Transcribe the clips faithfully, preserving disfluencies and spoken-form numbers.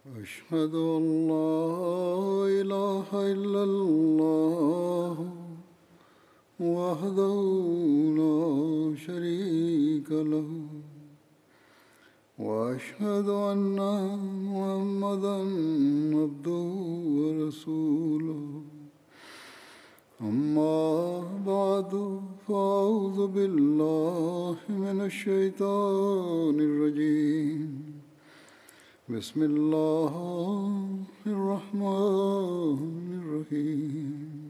أشهد أن لا إله إلا الله وحده لا شريك له وأشهد أن محمدا عبده ورسوله أما بعد فأعوذ بالله من الشيطان الرجيم بسم الله الرحمن الرحيم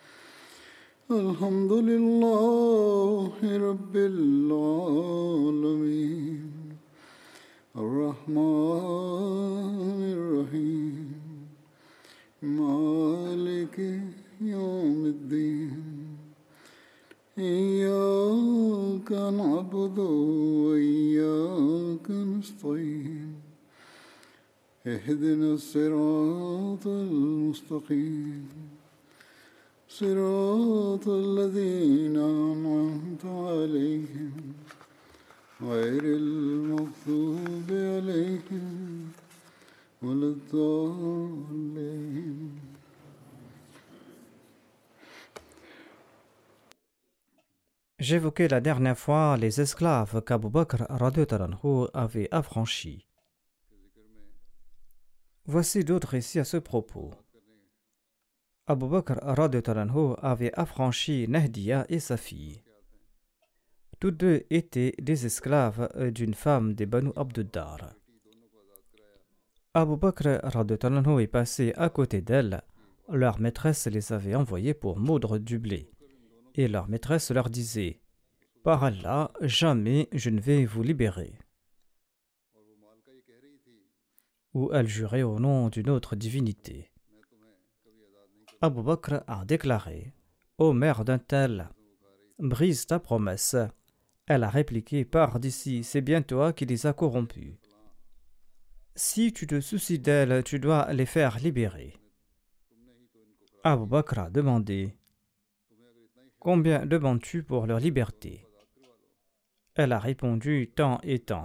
الحمد لله رب العالمين الرحمن الرحيم مالك يوم الدين إياك نعبد وإياك نستعين اهدنا الصراط المستقيم صراط الذين أنعمت عليهم غير المغضوب عليهم ولا الضالين. J'évoquais la dernière fois les esclaves qu'Abu Bakr radhiyallahu anhu avait affranchis. Voici d'autres récits à ce propos. Abu Bakr radhiyallahu anhu avait affranchi Nahdiya et sa fille. Tous deux étaient des esclaves d'une femme des Banu Abduddar. Abu Bakr radhiyallahu anhu est passé à côté d'elles. Leur maîtresse les avait envoyés pour moudre du blé. Et leur maîtresse leur disait « Par Allah, jamais je ne vais vous libérer. » Ou elle jurait au nom d'une autre divinité. Abu Bakr a déclaré « Ô mère d'un tel, brise ta promesse. » Elle a répliqué « Pars d'ici, c'est bien toi qui les as corrompus. Si tu te soucies d'elles, tu dois les faire libérer. » Abu Bakr a demandé « Combien demandes-tu pour leur liberté ?» Elle a répondu « Tant et tant. »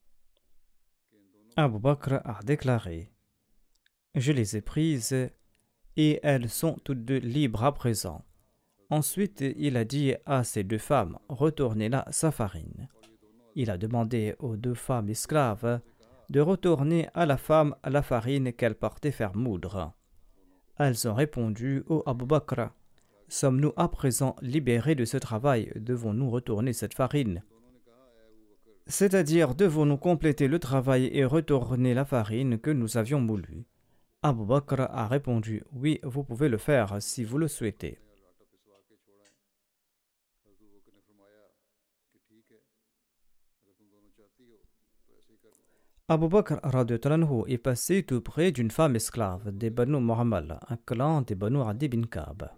Abu Bakr a déclaré « Je les ai prises et elles sont toutes deux libres à présent. » Ensuite, il a dit à ces deux femmes « Retournez-la sa farine. » Il a demandé aux deux femmes esclaves de retourner à la femme la farine qu'elle partait faire moudre. Elles ont répondu « Ô Abu Bakr, sommes-nous à présent libérés de ce travail? Devons-nous retourner cette farine? C'est-à-dire, devons-nous compléter le travail et retourner la farine que nous avions moulue? » Abu Bakr a répondu « Oui, vous pouvez le faire si vous le souhaitez. » Abu Bakr radhiyallahu anhu est passé tout près d'une femme esclave des Banu Muhammad, un clan des Banu Adi bin Ka'b.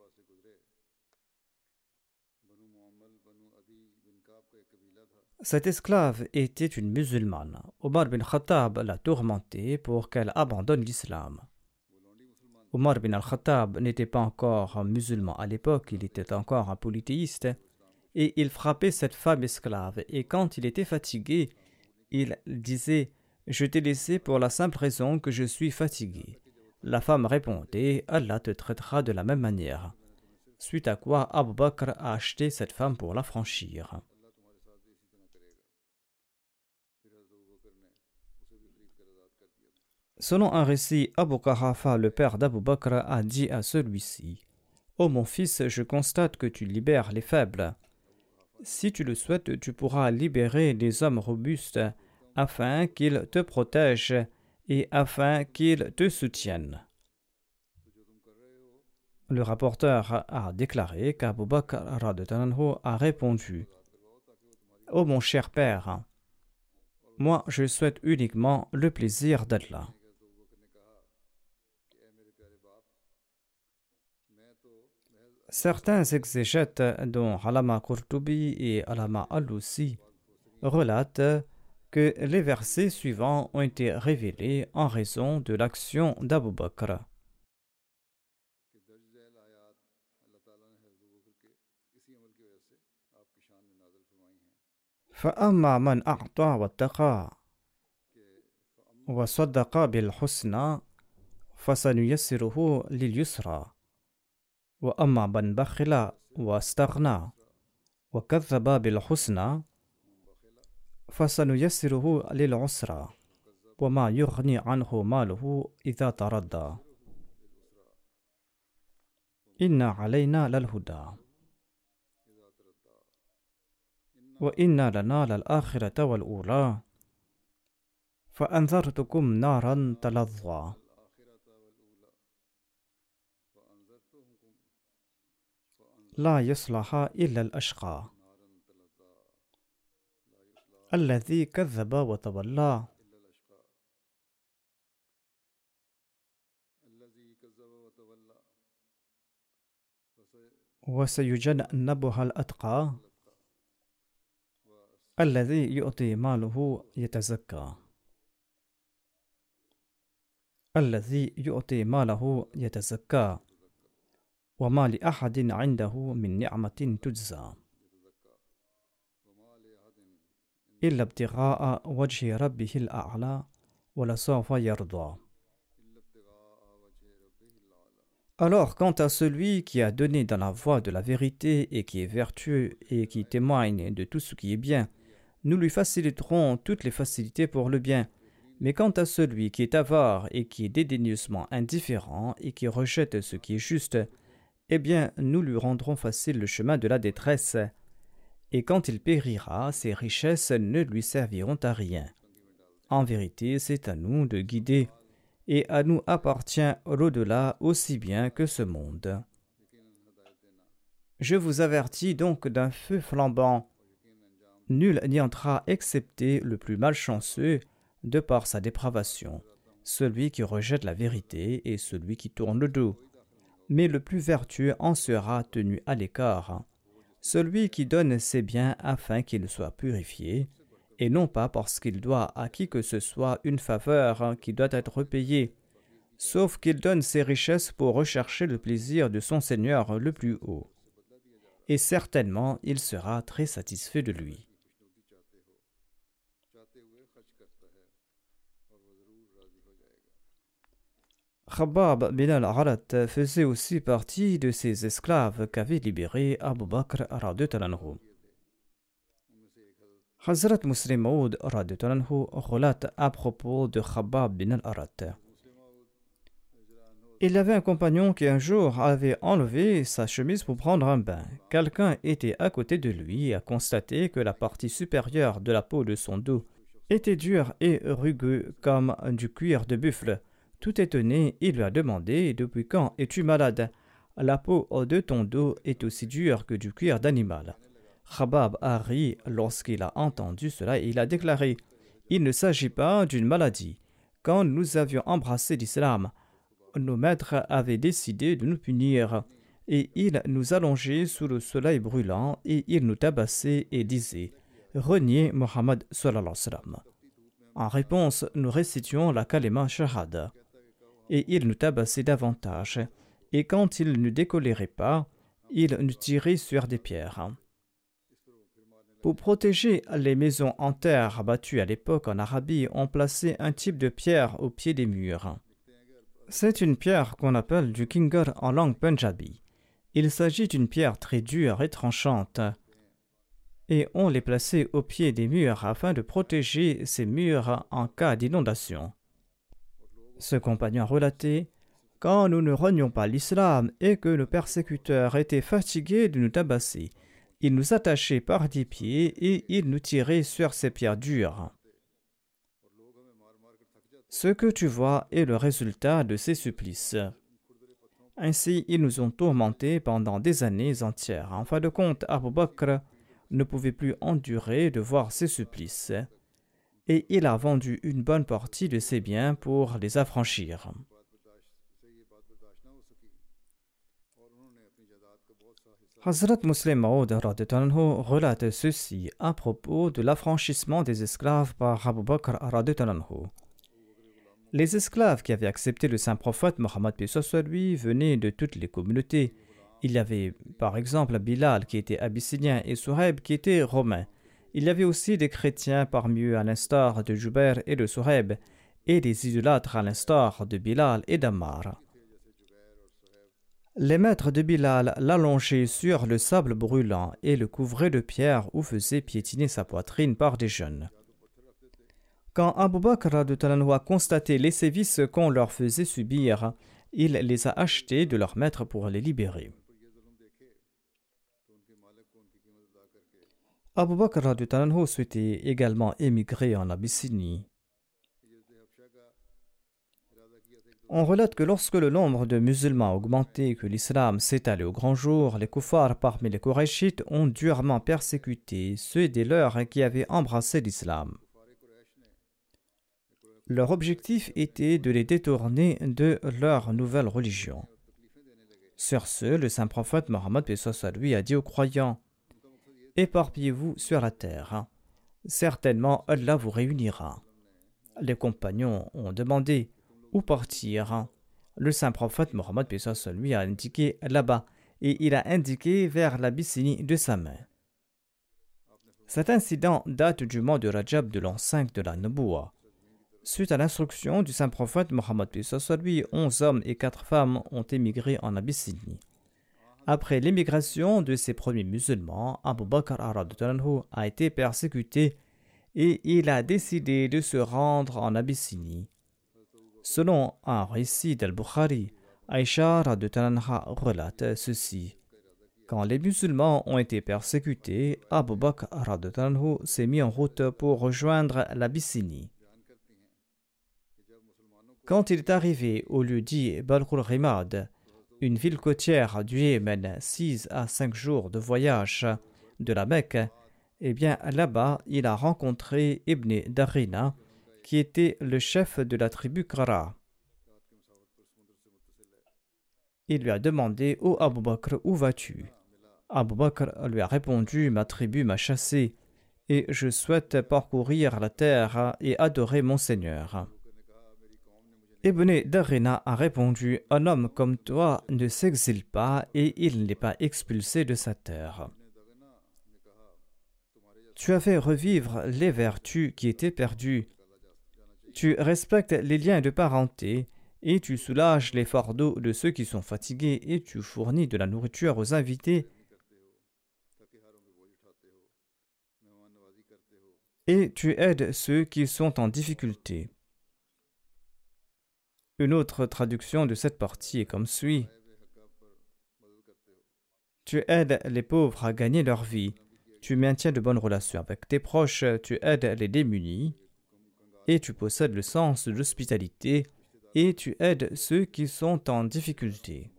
Cette esclave était une musulmane. Omar bin Khattab l'a tourmentée pour qu'elle abandonne l'islam. Omar bin al-Khattab n'était pas encore musulman à l'époque, il était encore un polythéiste, et il frappait cette femme esclave, et quand il était fatigué, il disait « Je t'ai laissé pour la simple raison que je suis fatigué. » La femme répondait « Allah te traitera de la même manière. » Suite à quoi Abu Bakr a acheté cette femme pour l'affranchir. Selon un récit, Abu Qahafa, le père d'Abu Bakr, a dit à celui-ci « Ô mon fils, je constate que tu libères les faibles. Si tu le souhaites, tu pourras libérer les hommes robustes afin qu'ils te protègent et afin qu'ils te soutiennent. » Le rapporteur a déclaré qu'Abu Bakr radhiyallahu anhu a répondu « Ô mon cher père, moi je souhaite uniquement le plaisir d'Allah. » Certains exégètes, dont Alama Qurtubi et Alama Al-Lusi, relatent que les versets suivants ont été révélés en raison de l'action d'Abu Bakr. فأما من أعطى واتقى وصدق بالحسنى فسنيسره لليسرى وأما من بخل واستغنى وكذب بالحسنى فسنيسره للعسرى وما يغني عنه ماله إذا تردى إن علينا للهدى وإن لنا للآخرة والأولى فأنذرتكم نارا تلظى لا يصلحها إلا الأشقى الذي كذب وتولى وسيجنبها الأتقى الذي يؤتي ماله يتزكى الذي يؤتي ماله يتزكى وما لأحد عنده من نعمة تجزى إلا ابتغاء وجه ربه الأعلى ولسوف يرضى. Alors, quant à celui qui a donné dans la voie de la vérité et qui est vertueux et qui témoigne de tout ce qui est bien, nous lui faciliterons toutes les facilités pour le bien. Mais quant à celui qui est avare et qui est dédaigneusement indifférent et qui rejette ce qui est juste, eh bien, nous lui rendrons facile le chemin de la détresse. Et quand il périra, ses richesses ne lui serviront à rien. En vérité, c'est à nous de guider, et à nous appartient l'au-delà aussi bien que ce monde. Je vous avertis donc d'un feu flambant. Nul n'y entrera excepté le plus malchanceux, de par sa dépravation, celui qui rejette la vérité et celui qui tourne le dos. Mais le plus vertueux en sera tenu à l'écart, celui qui donne ses biens afin qu'il soit purifié, et non pas parce qu'il doit à qui que ce soit une faveur qui doit être payée, sauf qu'il donne ses richesses pour rechercher le plaisir de son Seigneur le plus haut. Et certainement, il sera très satisfait de lui. Khabbab bin al-Arat faisait aussi partie de ces esclaves qu'avait libéré Abu Bakr radhiyallahu anhu. Hazrat Muslim Maud radhiyallahu anhu relate à propos de Khabbab bin al-Arat. Il y avait un compagnon qui un jour avait enlevé sa chemise pour prendre un bain. Quelqu'un était à côté de lui et a constaté que la partie supérieure de la peau de son dos était dure et rugueuse comme du cuir de buffle. Tout étonné, il lui a demandé « Depuis quand es-tu malade ? La peau de ton dos est aussi dure que du cuir d'animal. » Khabbab a ri lorsqu'il a entendu cela et il a déclaré « Il ne s'agit pas d'une maladie. Quand nous avions embrassé l'islam, nos maîtres avaient décidé de nous punir et ils nous allongeaient sous le soleil brûlant et ils nous tabassaient et disaient « Reniez Mohammed sallallahu alayhi wa sallam. » En réponse, nous récitions la kalima shahada. Et ils nous tabassaient davantage, et quand ils ne décoléraient pas, ils nous tiraient sur des pierres. Pour protéger les maisons en terre bâtues à l'époque en Arabie, on plaçait un type de pierre au pied des murs. C'est une pierre qu'on appelle du kingar en langue punjabi. Il s'agit d'une pierre très dure et tranchante, et on les plaçait au pied des murs afin de protéger ces murs en cas d'inondation. Ce compagnon a relaté « Quand nous ne renions pas l'islam et que nos persécuteurs étaient fatigués de nous tabasser, ils nous attachaient par des pieds et ils nous tiraient sur ces pierres dures. Ce que tu vois est le résultat de ces supplices. Ainsi, ils nous ont tourmentés pendant des années entières. En fin de compte, Abu Bakr ne pouvait plus endurer de voir ces supplices. Et il a vendu une bonne partie de ses biens pour les affranchir. Hazrat Muslim Maud relate ceci à propos de l'affranchissement des esclaves par Abu Bakr radhiyallahu anhu. Les esclaves qui avaient accepté le saint prophète Mohammed paix soit lui venaient de toutes les communautés. Il y avait par exemple Bilal qui était abyssinien et Suhaib qui était romain. Il y avait aussi des chrétiens parmi eux à l'instar de Jubair et de Suhaib, et des idolâtres à l'instar de Bilal et d'Ammar. Les maîtres de Bilal l'allongeaient sur le sable brûlant et le couvraient de pierres ou faisaient piétiner sa poitrine par des jeunes. Quand Abu Bakr a constaté les sévices qu'on leur faisait subir, il les a achetés de leur maître pour les libérer. Abu Bakr souhaitait également émigrer en Abyssinie. On relate que lorsque le nombre de musulmans a augmenté et que l'islam s'est allé au grand jour, les kuffars parmi les Qurayshites ont durement persécuté ceux des leurs qui avaient embrassé l'islam. Leur objectif était de les détourner de leur nouvelle religion. Sur ce, le saint prophète Mohammed lui a dit aux croyants: « Éparpillez-vous sur la terre. Certainement, Allah vous réunira. » Les compagnons ont demandé: « Où partir ?» Le saint prophète Mohammed lui a indiqué là-bas et il a indiqué vers l'Abyssinie de sa main. Cet incident date du mois de Rajab de l'an cinq de la Nubuwa. Suite à l'instruction du saint prophète Mohammed lui, onze hommes et quatre femmes ont émigré en Abyssinie. Après l'émigration de ces premiers musulmans, Abu Bakr a été persécuté et il a décidé de se rendre en Abyssinie. Selon un récit d'Al-Bukhari, Aïcha relate ceci. Quand les musulmans ont été persécutés, Abu Bakr s'est mis en route pour rejoindre l'Abyssinie. Quand il est arrivé au lieu dit Balkhul Rimad, une ville côtière du Yémen, six à cinq jours de voyage de la Mecque, eh bien là-bas, il a rencontré Ibn Darina, qui était le chef de la tribu Qara. Il lui a demandé: « Ô Abu Bakr, où vas-tu » Abu Bakr lui a répondu: « Ma tribu m'a chassé et je souhaite parcourir la terre et adorer mon Seigneur. » Ibn Darina a répondu: « Un homme comme toi ne s'exile pas et il n'est pas expulsé de sa terre. Tu as fait revivre les vertus qui étaient perdues. Tu respectes les liens de parenté et tu soulages les fardeaux de ceux qui sont fatigués et tu fournis de la nourriture aux invités et tu aides ceux qui sont en difficulté. » Une autre traduction de cette partie est comme suit. Tu aides les pauvres à gagner leur vie, tu maintiens de bonnes relations avec tes proches, tu aides les démunis, et tu possèdes le sens de l'hospitalité, et tu aides ceux qui sont en difficulté.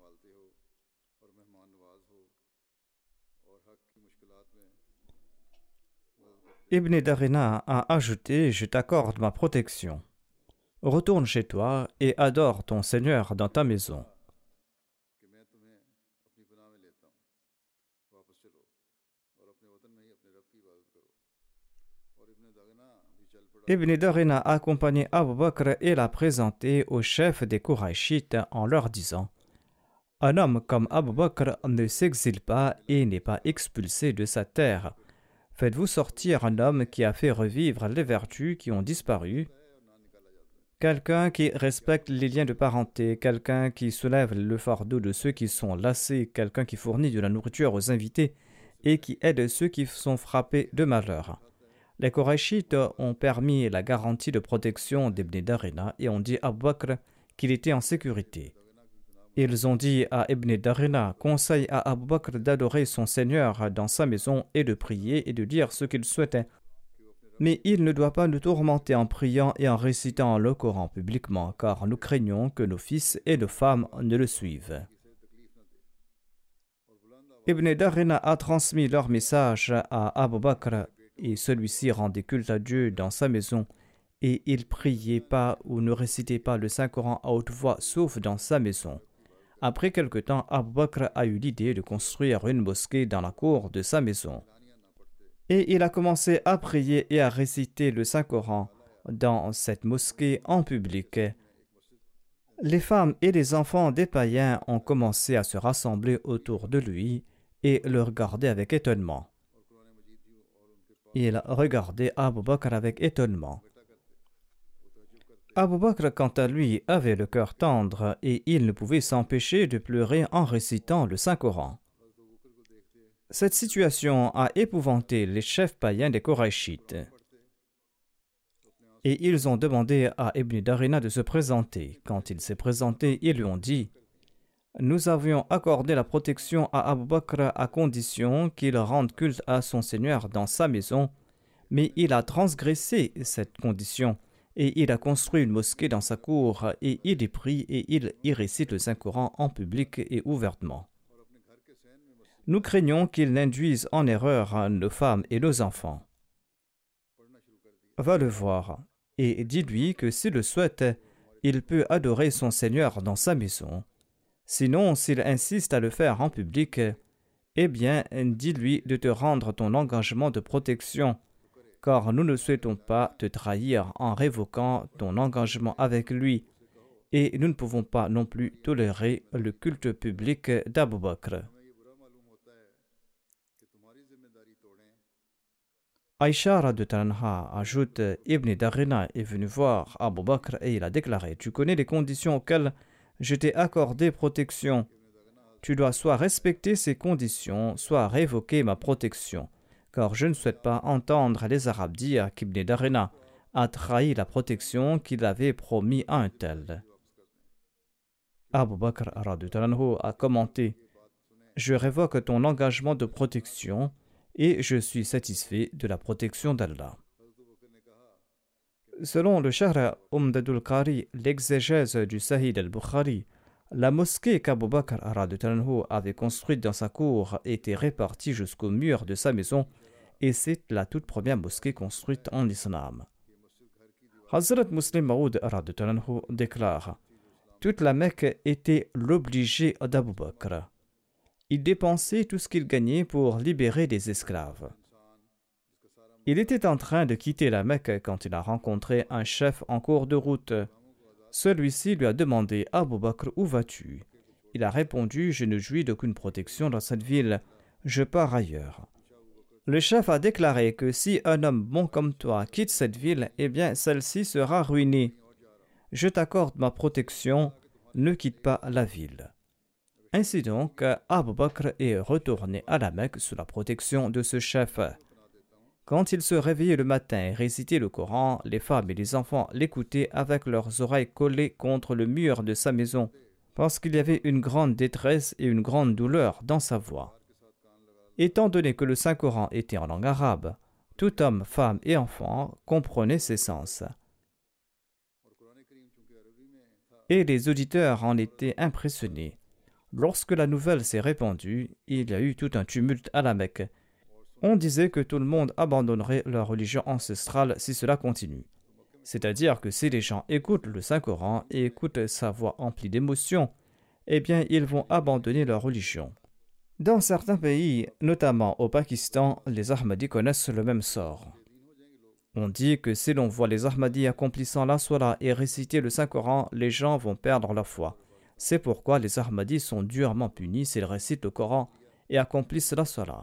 Ibn Darina a ajouté: « Je t'accorde ma protection. Retourne chez toi et adore ton Seigneur dans ta maison. » Ibn Darina a accompagné Abu Bakr et l'a présenté au chef des Qurayshites en leur disant: « Un homme comme Abu Bakr ne s'exile pas et n'est pas expulsé de sa terre. Faites-vous sortir un homme qui a fait revivre les vertus qui ont disparu, quelqu'un qui respecte les liens de parenté, quelqu'un qui soulève le fardeau de ceux qui sont lassés, quelqu'un qui fournit de la nourriture aux invités et qui aide ceux qui sont frappés de malheur. » Les Qurayshites ont permis la garantie de protection d'Ibn Darina et ont dit à Abu Bakr qu'il était en sécurité. Ils ont dit à Ibn Darina: « Conseille à Abu Bakr d'adorer son Seigneur dans sa maison et de prier et de dire ce qu'il souhaitait. Mais il ne doit pas nous tourmenter en priant et en récitant le Coran publiquement, car nous craignons que nos fils et nos femmes ne le suivent. » Ibn Darina a transmis leur message à Abu Bakr et celui-ci rendait culte à Dieu dans sa maison et il priait pas ou ne récitait pas le Saint-Coran à haute voix sauf dans sa maison. Après quelque temps, Abu Bakr a eu l'idée de construire une mosquée dans la cour de sa maison. Et il a commencé à prier et à réciter le Saint-Coran dans cette mosquée en public. Les femmes et les enfants des païens ont commencé à se rassembler autour de lui et le regarder avec étonnement. Il regardait Abu Bakr avec étonnement. Abu Bakr, quant à lui, avait le cœur tendre et il ne pouvait s'empêcher de pleurer en récitant le Saint-Coran. Cette situation a épouvanté les chefs païens des Koraïchites. Et ils ont demandé à Ibn Darina de se présenter. Quand il s'est présenté, ils lui ont dit « Nous avions accordé la protection à Abu Bakr à condition qu'il rende culte à son Seigneur dans sa maison, mais il a transgressé cette condition et il a construit une mosquée dans sa cour et il y prie et il y récite le Saint-Coran en public et ouvertement. Nous craignons qu'il n'induise en erreur nos femmes et nos enfants. Va le voir et dis-lui que s'il le souhaite, il peut adorer son Seigneur dans sa maison. Sinon, s'il insiste à le faire en public, eh bien, dis-lui de te rendre ton engagement de protection, car nous ne souhaitons pas te trahir en révoquant ton engagement avec lui, et nous ne pouvons pas non plus tolérer le culte public d'Abu Bakr. Aïcha radhiyallahu ajoute, Ibn Darina est venu voir Abu Bakr et il a déclaré, tu connais les conditions auxquelles je t'ai accordé protection. Tu dois soit respecter ces conditions, soit révoquer ma protection, car je ne souhaite pas entendre les Arabes dire qu'Ibn Darina a trahi la protection qu'il avait promis à un tel. Abu Bakr radhiyallahu a commenté, je révoque ton engagement de protection et je suis satisfait de la protection d'Allah. Selon le Shahr Umdadul Qari, l'exégèse du Sahih al-Bukhari, la mosquée qu'Abu Bakr avait construite dans sa cour était répartie jusqu'au mur de sa maison et c'est la toute première mosquée construite en islam. Hazrat Muslim Maud déclare, toute la Mecque était l'obligé d'Abu Bakr. Il dépensait tout ce qu'il gagnait pour libérer des esclaves. Il était en train de quitter la Mecque quand il a rencontré un chef en cours de route. Celui-ci lui a demandé « Abu Bakr, où vas-tu » Il a répondu « Je ne jouis d'aucune protection dans cette ville. Je pars ailleurs. » Le chef a déclaré que si un homme bon comme toi quitte cette ville, eh bien celle-ci sera ruinée. Je t'accorde ma protection, ne quitte pas la ville. Ainsi donc, Abu Bakr est retourné à la Mecque sous la protection de ce chef. Quand il se réveillait le matin et récitait le Coran, les femmes et les enfants l'écoutaient avec leurs oreilles collées contre le mur de sa maison, parce qu'il y avait une grande détresse et une grande douleur dans sa voix. Étant donné que le Saint-Coran était en langue arabe, tout homme, femme et enfant comprenait ses sens. Et les auditeurs en étaient impressionnés. Lorsque la nouvelle s'est répandue, il y a eu tout un tumulte à la Mecque. On disait que tout le monde abandonnerait leur religion ancestrale si cela continue. C'est-à-dire que si les gens écoutent le Saint-Coran et écoutent sa voix emplie d'émotion, eh bien ils vont abandonner leur religion. Dans certains pays, notamment au Pakistan, les Ahmadis connaissent le même sort. On dit que si l'on voit les Ahmadis accomplissant la Salat et réciter le Saint-Coran, les gens vont perdre leur foi. C'est pourquoi les Ahmadis sont durement punis s'ils récitent le Coran et accomplissent la Salat.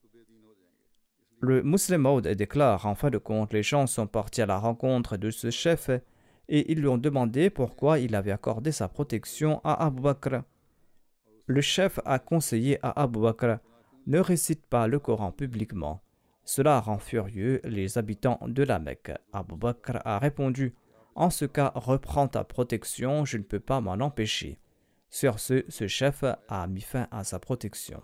Le Muslim Maud déclare, en fin de compte, les gens sont partis à la rencontre de ce chef et ils lui ont demandé pourquoi il avait accordé sa protection à Abu Bakr. Le chef a conseillé à Abu Bakr, ne récite pas le Coran publiquement. Cela rend furieux les habitants de la Mecque. Abu Bakr a répondu, en ce cas, reprends ta protection, je ne peux pas m'en empêcher. Sur ce, ce chef a mis fin à sa protection.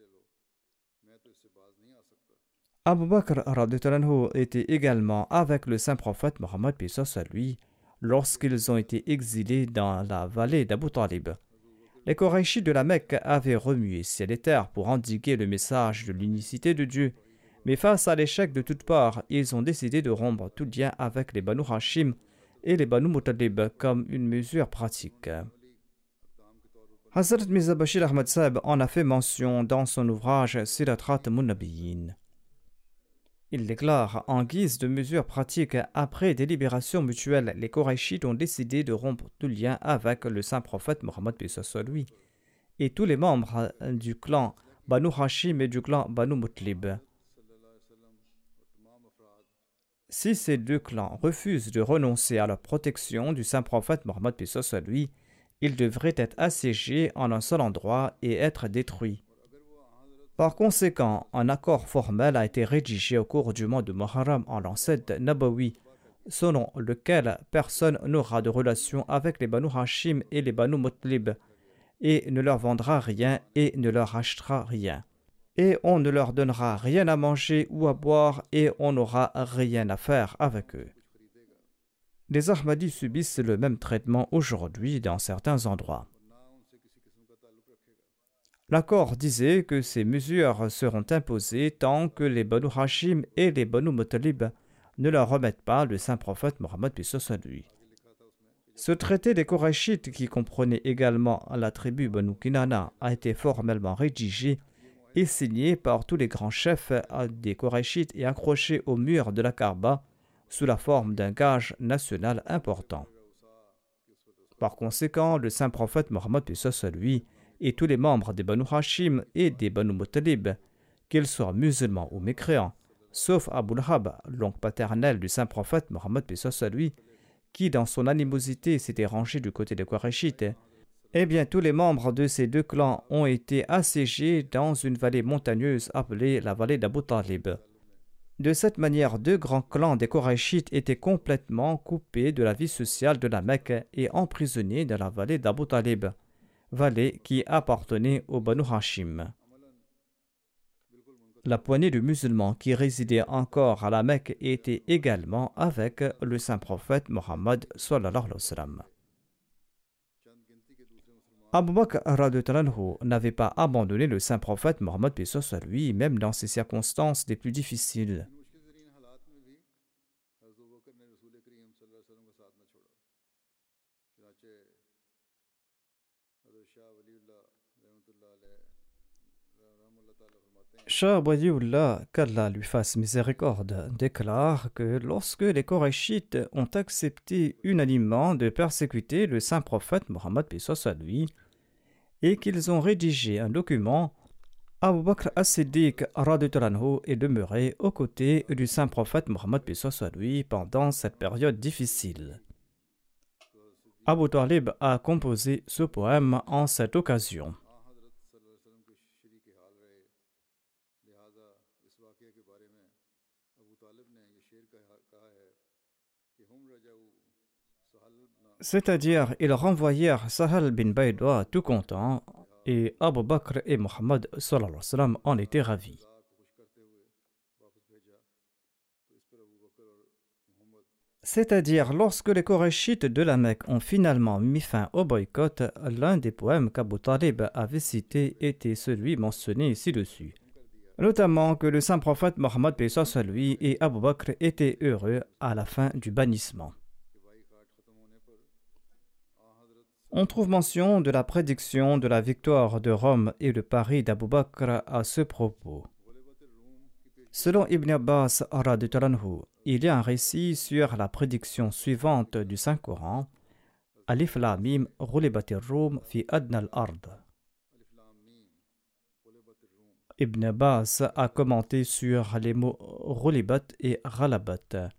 Abu Bakr était également avec le saint prophète Mohammed paix à lui lorsqu'ils ont été exilés dans la vallée d'Abu Talib. Les Koraïchis de la Mecque avaient remué ciel et terre pour endiguer le message de l'unicité de Dieu, mais face à l'échec de toutes parts, ils ont décidé de rompre tout lien avec les Banu Hashim et les Banu Muttalib comme une mesure pratique. Hazrat Mirza Bashir Ahmad Sahib en a fait mention dans son ouvrage Sirat Khatamun Nabiyyin. Il déclare, en guise de mesure pratique, après délibération mutuelle, les Koraïchites ont décidé de rompre tout lien avec le saint prophète Mohammed paix à lui et tous les membres du clan Banu Hashim et du clan Banu Muttalib. Si ces deux clans refusent de renoncer à la protection du saint prophète Mohammed paix soit lui, ils devraient être assiégés en un seul endroit et être détruits. Par conséquent, un accord formel a été rédigé au cours du mois de Muharram en l'an sept Nabawi, selon lequel personne n'aura de relation avec les Banu Hashim et les Banu Mutlib, et ne leur vendra rien et ne leur achètera rien. Et on ne leur donnera rien à manger ou à boire et on n'aura rien à faire avec eux. Les Ahmadis subissent le même traitement aujourd'hui dans certains endroits. L'accord disait que ces mesures seront imposées tant que les Banu Hashim et les Banu Muttalib ne leur remettent pas le saint prophète Mohammed paix soit lui. Ce traité des Korachites, qui comprenait également la tribu Banu Kinana, a été formellement rédigé et signé par tous les grands chefs des Korachites et accroché au mur de la Kaaba sous la forme d'un gage national important. Par conséquent, le saint prophète Mohammed paix soit lui et tous les membres des Banu Hashim et des Banu Muttalib, qu'ils soient musulmans ou mécréants, sauf Abu Lahab, l'oncle paternel du saint prophète Mohammed paix soit lui, qui dans son animosité s'était rangé du côté des Korachites, eh bien tous les membres de ces deux clans ont été assiégés dans une vallée montagneuse appelée la vallée d'Abu Talib. De cette manière, deux grands clans des Korachites étaient complètement coupés de la vie sociale de la Mecque et emprisonnés dans la vallée d'Abu Talib, vallée qui appartenait aux Banu Hashim. La poignée de musulmans qui résidaient encore à la Mecque était également avec le saint prophète Mohammed sallallahu alayhi wa sallam. Abu Bakr radhiyallahu anhu n'avait pas abandonné le saint prophète Mohammed paix soit lui, même dans ces circonstances les plus difficiles. Shah Waliullah, qu'Allah lui fasse miséricorde, déclare que lorsque les Korachites ont accepté unanimement de persécuter le saint prophète Mohammed paix soit lui et qu'ils ont rédigé un document, Abu Bakr as-Siddiq radhiyallahu anhu est demeuré aux côtés du saint prophète Mohammed paix soit lui pendant cette période difficile. Abu Talib a composé ce poème en cette occasion. C'est-à-dire, ils renvoyèrent Sahal bin Baydoua tout content et Abu Bakr et Mohammed sallallahu alayhi wa sallam en étaient ravis. C'est-à-dire, lorsque les Korachites de la Mecque ont finalement mis fin au boycott, l'un des poèmes qu'Abu Talib avait cité était celui mentionné ci-dessus. Notamment que le saint prophète Mohammed paix soit lui et Abu Bakr étaient heureux à la fin du bannissement. On trouve mention de la prédiction de la victoire de Rome et le pari d'Abu Bakr à ce propos. Selon Ibn Abbas radhiyallahu anhu, il y a un récit sur la prédiction suivante du Saint-Coran: Alif Lam Mim ghulibatir Rum fi adna al-ard. Ibn Abbas a commenté sur les mots ghulibat et ghalabat.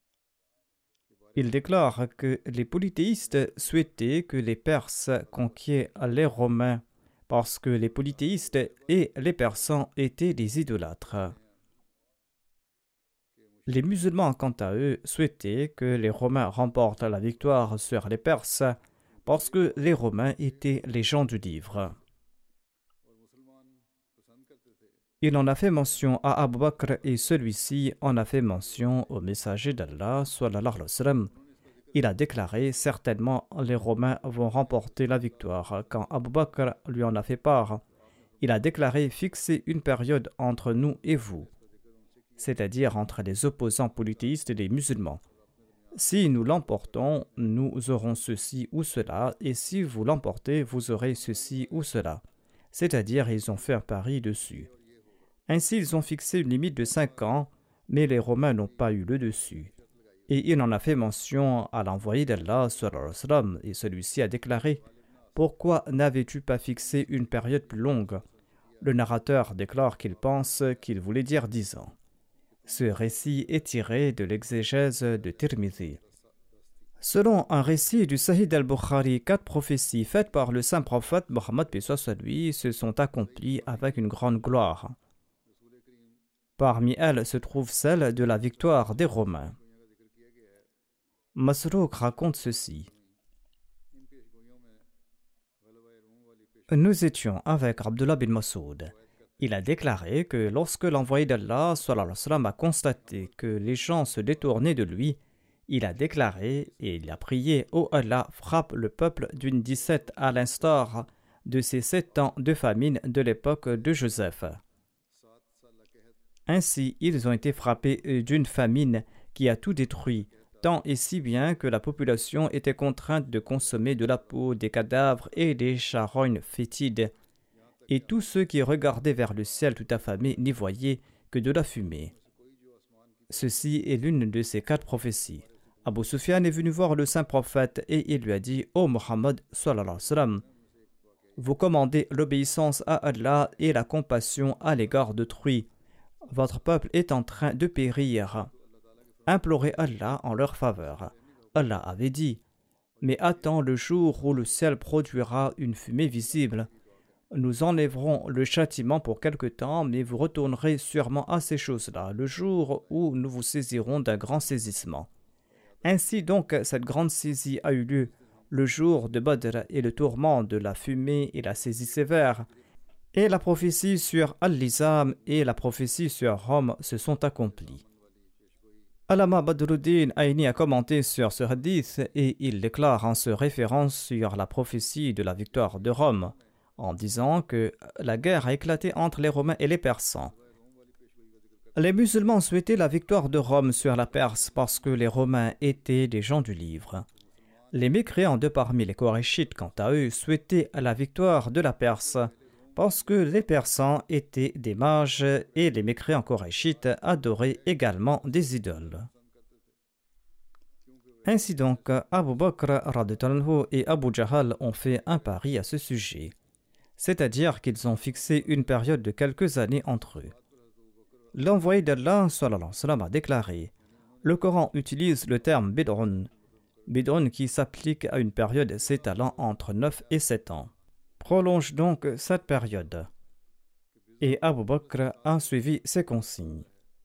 Il déclare que les polythéistes souhaitaient que les Perses conquièrent les Romains parce que les polythéistes et les Persans étaient des idolâtres. Les musulmans, quant à eux, souhaitaient que les Romains remportent la victoire sur les Perses parce que les Romains étaient les gens du livre. Il en a fait mention à Abu Bakr et celui-ci en a fait mention au messager d'Allah sallallahu alayhi wa sallam. Il a déclaré: certainement les Romains vont remporter la victoire. Quand Abu Bakr lui en a fait part, il a déclaré: fixez une période entre nous et vous, c'est-à-dire entre les opposants polythéistes et les musulmans. Si nous l'emportons, nous aurons ceci ou cela, et si vous l'emportez, vous aurez ceci ou cela. C'est-à-dire, ils ont fait un pari dessus. Ainsi, ils ont fixé une limite de cinq ans, mais les Romains n'ont pas eu le dessus. Et il en a fait mention à l'envoyé d'Allah, sallallahu alayhi wa sallam, et celui-ci a déclaré: pourquoi n'avais-tu pas fixé une période plus longue? Le narrateur déclare qu'il pense qu'il voulait dire dix ans. Ce récit est tiré de l'exégèse de Tirmidhi. Selon un récit du Sahih al-Bukhari, quatre prophéties faites par le saint prophète Mohammed paix soit sur lui se sont accomplies avec une grande gloire. Parmi elles se trouve celle de la victoire des Romains. Masrouk raconte ceci. Nous étions avec Abdullah bin Masoud. Il a déclaré que lorsque l'envoyé d'Allah sallallahu alayhi wa sallam, a constaté que les gens se détournaient de lui, il a déclaré et il a prié « Ô Allah, frappe le peuple d'une disette à l'instar de ces sept ans de famine de l'époque de Joseph. » Ainsi, ils ont été frappés d'une famine qui a tout détruit, tant et si bien que la population était contrainte de consommer de la peau, des cadavres et des charognes fétides. Et tous ceux qui regardaient vers le ciel tout affamés n'y voyaient que de la fumée. Ceci est l'une de ces quatre prophéties. Abu Sufyan est venu voir le saint prophète et il lui a dit « Ô Muhammad sallallahu alayhi wa sallam, vous commandez l'obéissance à Allah et la compassion à l'égard d'autrui. Votre peuple est en train de périr. Implorez Allah en leur faveur. » Allah avait dit « Mais attends le jour où le ciel produira une fumée visible. Nous enlèverons le châtiment pour quelque temps, mais vous retournerez sûrement à ces choses-là, le jour où nous vous saisirons d'un grand saisissement. » Ainsi donc, cette grande saisie a eu lieu le jour de Badr et le tourment de la fumée et la saisie sévère. Et la prophétie sur Al-Lizam et la prophétie sur Rome se sont accomplies. Allama Badruddin Aini a commenté sur ce hadith et il déclare en se référant sur la prophétie de la victoire de Rome, en disant que la guerre a éclaté entre les Romains et les Persans. Les musulmans souhaitaient la victoire de Rome sur la Perse parce que les Romains étaient des gens du livre. Les mécréants de parmi les Korachites, quant à eux, souhaitaient la victoire de la Perse parce que les Persans étaient des mages et les mécréants Korachites adoraient également des idoles. Ainsi donc, Abu Bakr radhiyallahu anhu et Abu Jahal ont fait un pari à ce sujet, c'est-à-dire qu'ils ont fixé une période de quelques années entre eux. L'envoyé d'Allah sallallahu alayhi wa sallam a déclaré « Le Coran utilise le terme bid'un, bid'un qui s'applique à une période s'étalant entre neuf et sept ans. Prolonge donc cette période. » Et Abu Bakr a suivi ses consignes.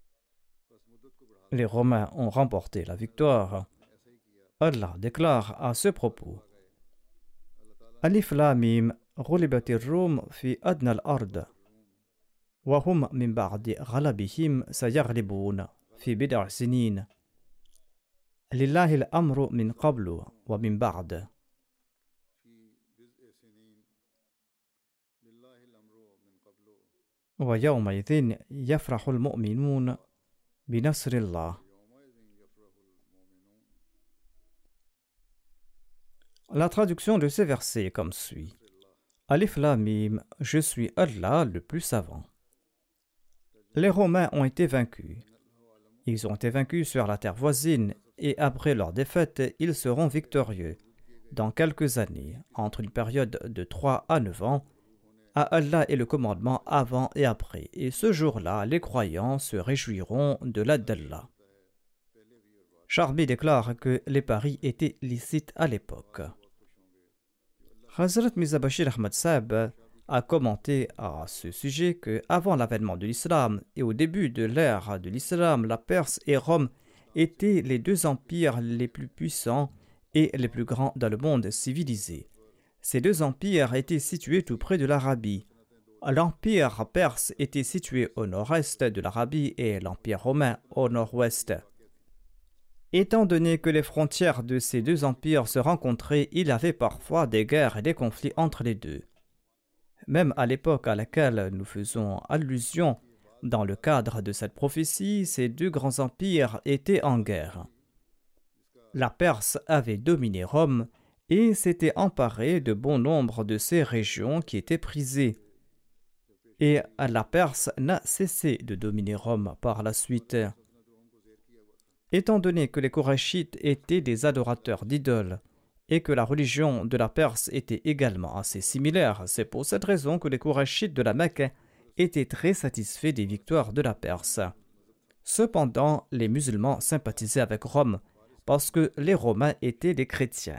Les Romains ont remporté la victoire. Allah déclare à ce propos Alif Lam Mim ghulibatir Rum fi adna al-ard wa hum min ba'di ghalabihim sayaghlibun fi bid'a sinin lillahi al-amru min qablu wa min ba'd. Wa yawma idhin yafrahu al-mu'minun bi nasrillah. La traduction de ces versets est comme suit. Alif Lam Mim, je suis Allah le plus savant. Les Romains ont été vaincus. Ils ont été vaincus sur la terre voisine et après leur défaite, ils seront victorieux. Dans quelques années, entre une période de trois à neuf ans, à Allah est le commandement avant et après. Et ce jour-là, les croyants se réjouiront de l'aide d'Allah. Charbi déclare que les paris étaient licites à l'époque. Hazrat Mirza Bashir Ahmad Sahib a commenté à ce sujet que, avant l'avènement de l'islam et au début de l'ère de l'islam, la Perse et Rome étaient les deux empires les plus puissants et les plus grands dans le monde civilisé. Ces deux empires étaient situés tout près de l'Arabie. L'empire perse était situé au nord-est de l'Arabie et l'empire romain au nord-ouest. Étant donné que les frontières de ces deux empires se rencontraient, il y avait parfois des guerres et des conflits entre les deux. Même à l'époque à laquelle nous faisons allusion, dans le cadre de cette prophétie, ces deux grands empires étaient en guerre. La Perse avait dominé Rome et s'était emparée de bon nombre de ces régions qui étaient prisées. Et la Perse n'a cessé de dominer Rome par la suite. Étant donné que les Korachites étaient des adorateurs d'idoles et que la religion de la Perse était également assez similaire, c'est pour cette raison que les Korachites de la Mecque étaient très satisfaits des victoires de la Perse. Cependant, les musulmans sympathisaient avec Rome parce que les Romains étaient des chrétiens.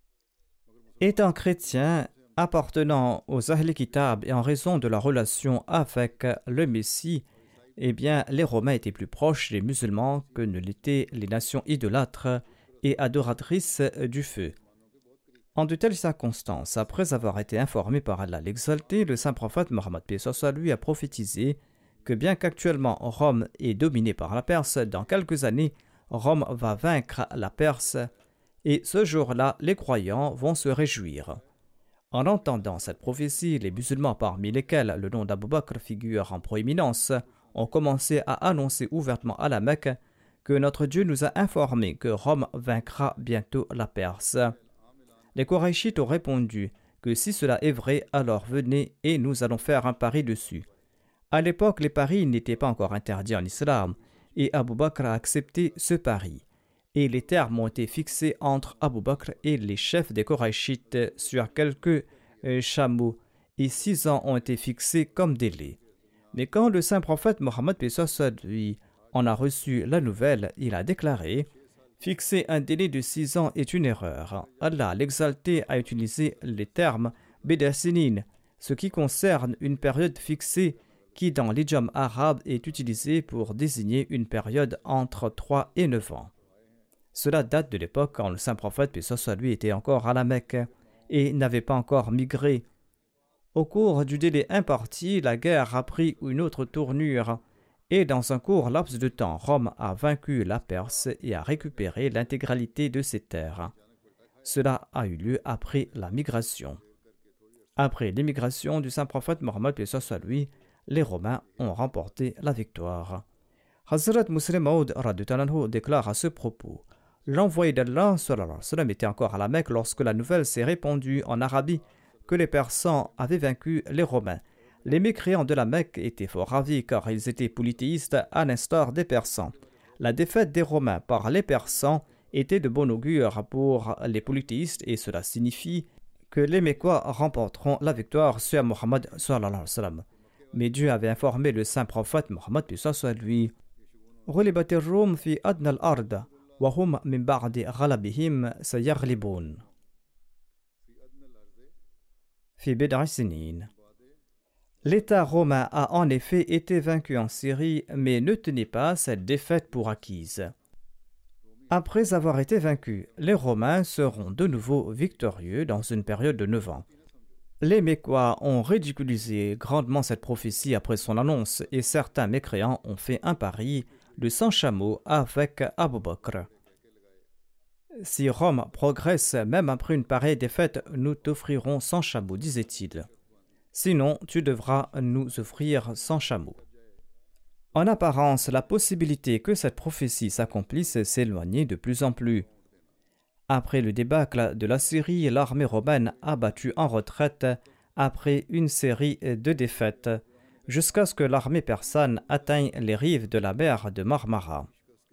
Étant chrétiens, appartenant aux Ahl Kitab et en raison de leur relation avec le Messie, eh bien, les Romains étaient plus proches des musulmans que ne l'étaient les nations idolâtres et adoratrices du feu. En de telles circonstances, après avoir été informé par Allah l'exalté, le saint prophète Mohammed paix soit lui a prophétisé que bien qu'actuellement Rome est dominée par la Perse, dans quelques années, Rome va vaincre la Perse et ce jour-là, les croyants vont se réjouir. En entendant cette prophétie, les musulmans parmi lesquels le nom d'Abu Bakr figure en proéminence ont commencé à annoncer ouvertement à la Mecque que notre Dieu nous a informé que Rome vaincra bientôt la Perse. Les Koraïchites ont répondu que si cela est vrai, alors venez et nous allons faire un pari dessus. À l'époque, les paris n'étaient pas encore interdits en islam et Abu Bakr a accepté ce pari. Et les termes ont été fixés entre Abu Bakr et les chefs des Koraïchites sur quelques euh, chameaux et six ans ont été fixés comme délai. Mais quand le saint prophète Mohammed paix soit lui en a reçu la nouvelle, il a déclaré « Fixer un délai de six ans est une erreur. Allah l'exalté a utilisé les termes « Bidasinin », ce qui concerne une période fixée qui dans l'idiome arabe est utilisée pour désigner une période entre trois et neuf ans. Cela date de l'époque quand le saint prophète paix soit lui était encore à la Mecque et n'avait pas encore migré. Au cours du délai imparti, la guerre a pris une autre tournure et dans un court laps de temps, Rome a vaincu la Perse et a récupéré l'intégralité de ses terres. Cela a eu lieu après la migration. Après l'émigration du saint prophète Mohammed paix soit lui, les Romains ont remporté la victoire. Hazrat Muslim Maud déclare à ce propos: l'envoyé d'Allah était encore à la Mecque lorsque la nouvelle s'est répandue en Arabie que les Persans avaient vaincu les Romains. Les mécréants de la Mecque étaient fort ravis car ils étaient polythéistes à l'instar des Persans. La défaite des Romains par les Persans était de bon augure pour les polythéistes et cela signifie que les Mécois remporteront la victoire sur Mohammed sallallahu alayhi wa sallam. Mais Dieu avait informé le saint prophète Mohammed paix soit lui: غلبت الروم في أدنى الأرض وهم من بعد غلبهم سيغلبون في بضع سنين. L'État romain a en effet été vaincu en Syrie, mais ne tenez pas cette défaite pour acquise. Après avoir été vaincus, les Romains seront de nouveau victorieux dans une période de neuf ans. Les Mécois ont ridiculisé grandement cette prophétie après son annonce et certains mécréants ont fait un pari de cent chameaux avec Abu Bakr. Si Rome progresse même après une pareille défaite, nous t'offrirons cent chameaux, disait-il. Sinon, tu devras nous offrir cent chameaux. En apparence, la possibilité que cette prophétie s'accomplisse s'éloignait de plus en plus. Après le débâcle de la Syrie, l'armée romaine a battu en retraite après une série de défaites, jusqu'à ce que l'armée persane atteigne les rives de la mer de Marmara.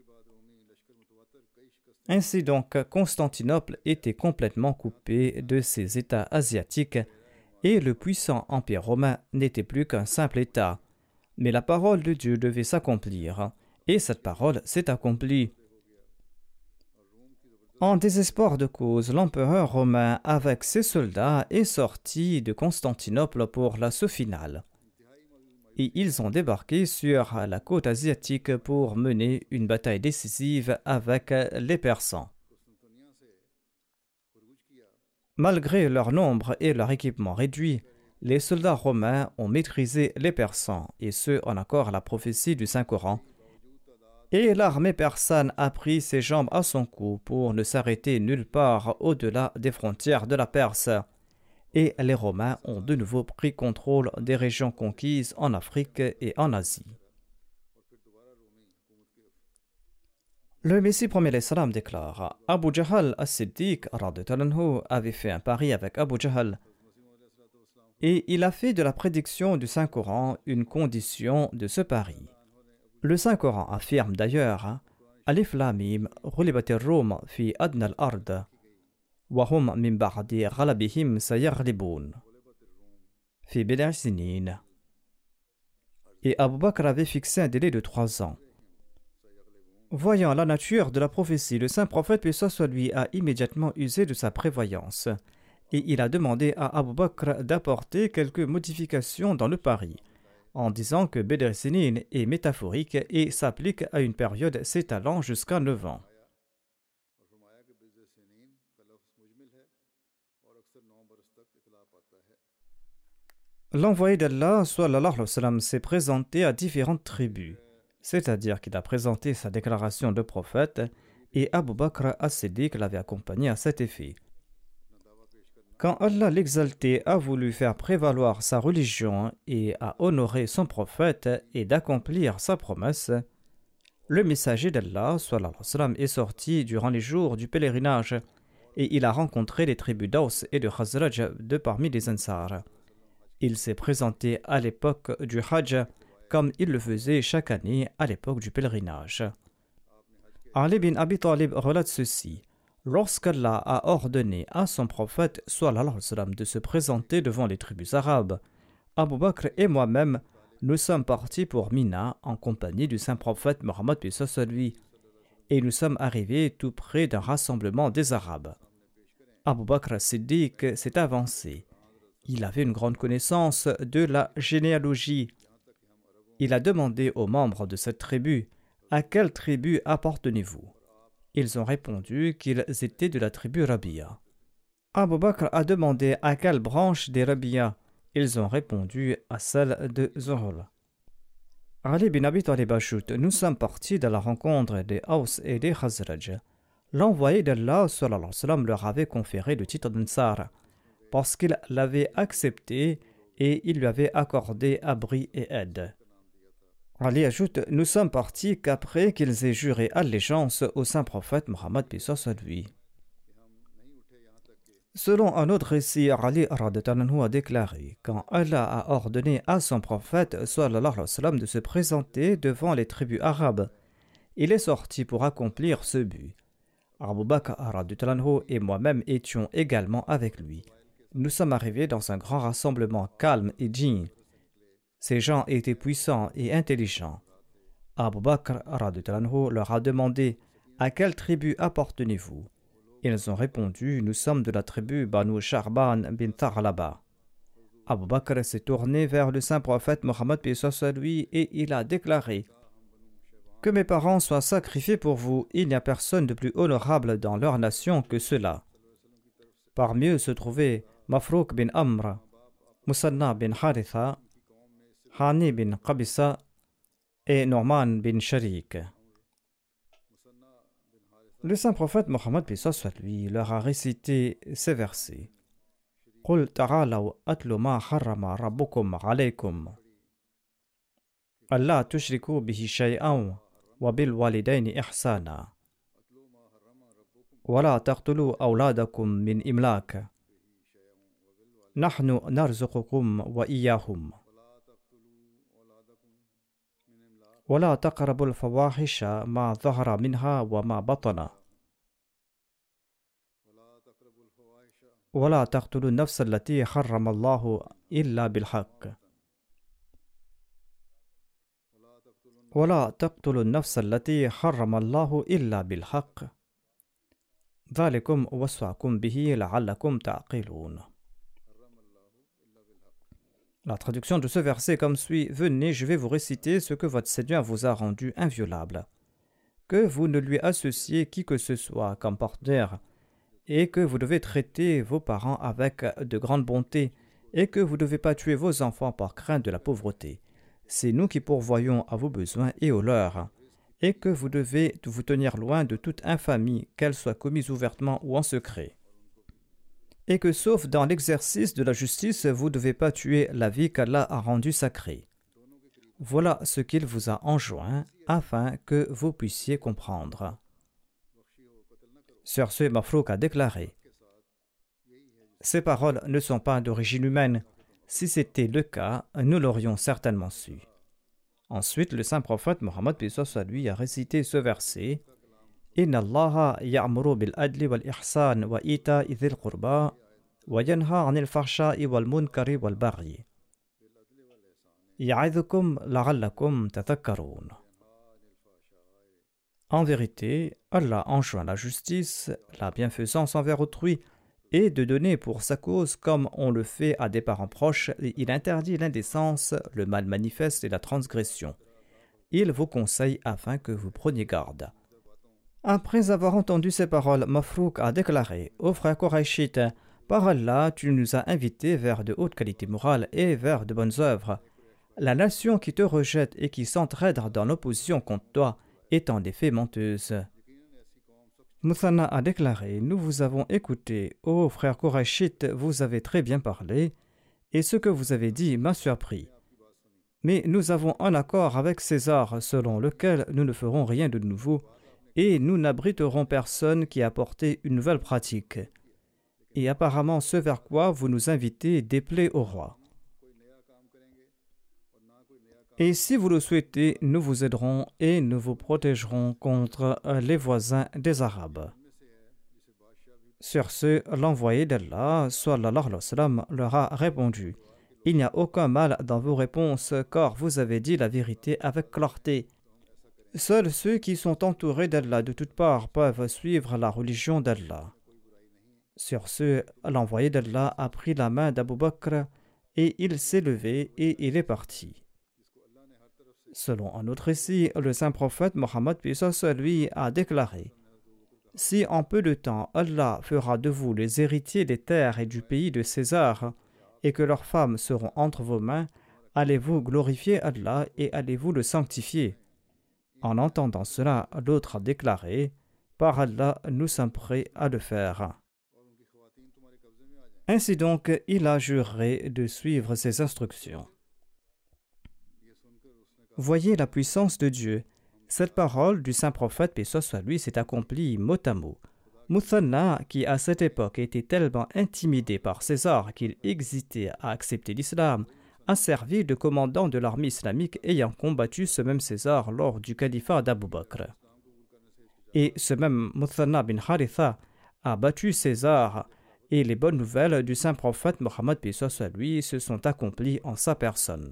Ainsi donc, Constantinople était complètement coupée de ses États asiatiques et le puissant empire romain n'était plus qu'un simple État. Mais la parole de Dieu devait s'accomplir, et cette parole s'est accomplie. En désespoir de cause, l'empereur romain, avec ses soldats, est sorti de Constantinople pour l'assaut final. Et ils ont débarqué sur la côte asiatique pour mener une bataille décisive avec les Persans. Malgré leur nombre et leur équipement réduit, les soldats romains ont maîtrisé les Persans, et ce en accord à la prophétie du Saint-Coran. Et l'armée persane a pris ses jambes à son cou pour ne s'arrêter nulle part au-delà des frontières de la Perse. Et les Romains ont de nouveau pris contrôle des régions conquises en Afrique et en Asie. Le Messie premier salam déclare: Abu Jahl as-Siddiq avait fait un pari avec Abu Jahl et il a fait de la prédiction du Saint-Coran une condition de ce pari. Le Saint-Coran affirme d'ailleurs: Alif Lam Mim ghulibat ar-Rum fi adna al-ard wa hum min ba'di ghalabihim sayaghlibun fi bid'a sinin. Et Abu Bakr avait fixé un délai de trois ans. Voyant la nature de la prophétie, le saint prophète, paix soit sur lui, a immédiatement usé de sa prévoyance et il a demandé à Abu Bakr d'apporter quelques modifications dans le pari, en disant que Badr Sinin est métaphorique et s'applique à une période s'étalant jusqu'à neuf ans. L'envoyé d'Allah sallallahu alayhi wa sallam s'est présenté à différentes tribus, c'est-à-dire qu'il a présenté sa déclaration de prophète et Abu Bakr as-Siddiq l'avait accompagné à cet effet. Quand Allah l'exalté a voulu faire prévaloir sa religion et a honoré son prophète et d'accomplir sa promesse, le messager d'Allah sallallahu alayhi wa sallam est sorti durant les jours du pèlerinage et il a rencontré les tribus d'Aws et de Khazraj de parmi les Ansar. Il s'est présenté à l'époque du Hajj comme il le faisait chaque année à l'époque du pèlerinage. Ali bin Abi Talib relate ceci. Lorsqu'Allah a ordonné à son prophète sallallahu alayhi wa sallam de se présenter devant les tribus arabes, Abu Bakr et moi-même, nous sommes partis pour Mina en compagnie du saint prophète Mohammed paix soit sur lui, et nous sommes arrivés tout près d'un rassemblement des Arabes. Abu Bakr Siddiq s'est avancé. Il avait une grande connaissance de la généalogie. Il a demandé aux membres de cette tribu « À quelle tribu appartenez-vous » Ils ont répondu qu'ils étaient de la tribu Rabia. Abu Bakr a demandé à quelle branche des Rabia. Ils ont répondu à celle de Zuhul. Ali bin Abi Talib ajoute, nous sommes partis de la rencontre des Aws et des Khazraj. L'envoyé d'Allah sallallahu alayhi wa sallam leur avait conféré le titre d'Ansar parce qu'il l'avait accepté et il lui avait accordé abri et aide. Ali ajoute, nous sommes partis qu'après qu'ils aient juré allégeance au saint prophète Mohammed paix soit sur lui. Selon un autre récit, Ali radhiyallahu a déclaré, quand Allah a ordonné à son prophète sallallahu alayhi wa sallam de se présenter devant les tribus arabes, il est sorti pour accomplir ce but. Abu Bakr radhiyallahu et moi-même étions également avec lui. Nous sommes arrivés dans un grand rassemblement calme et digne. Ces gens étaient puissants et intelligents. Abu Bakr radhiyallahu leur a demandé « À quelle tribu appartenez-vous » Ils ont répondu « Nous sommes de la tribu Banu Sharban bin Taghlaba ». Abu Bakr s'est tourné vers le saint prophète Mohammed paix soit sur lui et il a déclaré « Que mes parents soient sacrifiés pour vous, il n'y a personne de plus honorable dans leur nation que cela. » Parmi eux se trouvaient Mafrouk bin Amr, Musanna bin Haritha, Hani bin Qabisa et Norman bin Sharik. Le saint prophète Mohammed paix soit sur lui leur a récité ces versets. Qul ta'alaw atlu ma harrama rabbukum alaykum. Allah tushriku bihi shay'an wa bil walidayni ihsana. Wa la taqtulu awladakum min imlak. Nahnu narzuqukum wa iyyahum. ولا تقربوا الفواحش ما ظهر منها وما بطن ولا تقتلوا النفس التي حرم الله إلا بالحق ولا تقتلوا النفس التي حرم الله إلا بالحق ذلكم وصاكم به لعلكم تعقلون. La traduction de ce verset comme suit. Venez, je vais vous réciter ce que votre Seigneur vous a rendu inviolable. Que vous ne lui associez qui que ce soit comme partenaire et que vous devez traiter vos parents avec de grande bonté et que vous ne devez pas tuer vos enfants par crainte de la pauvreté. C'est nous qui pourvoyons à vos besoins et aux leurs et que vous devez vous tenir loin de toute infamie, qu'elle soit commise ouvertement ou en secret. Et que sauf dans l'exercice de la justice, vous ne devez pas tuer la vie qu'Allah a rendue sacrée. Voilà ce qu'il vous a enjoint, afin que vous puissiez comprendre. Sur ce, Mafrouk a déclaré « Ces paroles ne sont pas d'origine humaine. Si c'était le cas, nous l'aurions certainement su. » Ensuite, le saint prophète Mohammed paix soit sur lui a récité ce verset Inna Allaha ya'muru bil adli wal ihsan wa ita'i dhil qurba wa yanha 'anil fahsha'i wal munkari wal baghi ya'idhukum la'allakum tadhakkarun. En vérité, Allah enjoint la justice, la bienfaisance envers autrui et de donner pour sa cause comme on le fait à des parents proches, et il interdit l'indécence, le mal manifeste et la transgression. Il vous conseille afin que vous preniez garde. Après avoir entendu ces paroles, Mafrouk a déclaré « Ô frère Quraishite, par Allah, tu nous as invités vers de hautes qualités morales et vers de bonnes œuvres. La nation qui te rejette et qui s'entraide dans l'opposition contre toi est en effet menteuse. » Muthanna a déclaré « Nous vous avons écouté, ô frère Quraishite, vous avez très bien parlé, et ce que vous avez dit m'a surpris. Mais nous avons un accord avec César selon lequel nous ne ferons rien de nouveau, et nous n'abriterons personne qui a apporté une nouvelle pratique. Et apparemment ce vers quoi vous nous invitez déplaît au roi. Et si vous le souhaitez, nous vous aiderons et nous vous protégerons contre les voisins des Arabes. » Sur ce, l'envoyé d'Allah, sallallahu alayhi wa sallam, leur a répondu « Il n'y a aucun mal dans vos réponses, car vous avez dit la vérité avec clarté. Seuls ceux qui sont entourés d'Allah de toutes parts peuvent suivre la religion d'Allah. » Sur ce, l'envoyé d'Allah a pris la main d'Abu Bakr et il s'est levé et il est parti. Selon un autre récit, le saint prophète Mohammed lui a déclaré « Si en peu de temps Allah fera de vous les héritiers des terres et du pays de César, et que leurs femmes seront entre vos mains, allez-vous glorifier Allah et allez-vous le sanctifier ?» En entendant cela, l'autre a déclaré « Par Allah, nous sommes prêts à le faire. » Ainsi donc, il a juré de suivre ses instructions. Voyez la puissance de Dieu. Cette parole du saint prophète, paix soit lui, s'est accomplie mot à mot. Muthanna, qui à cette époque était tellement intimidé par César qu'il hésitait à accepter l'islam, a servi de commandant de l'armée islamique ayant combattu ce même César lors du califat d'Abu Bakr. Et ce même Muthanna bin Haritha a battu César, et les bonnes nouvelles du saint prophète Mohammed, paix soit lui, se sont accomplies en sa personne.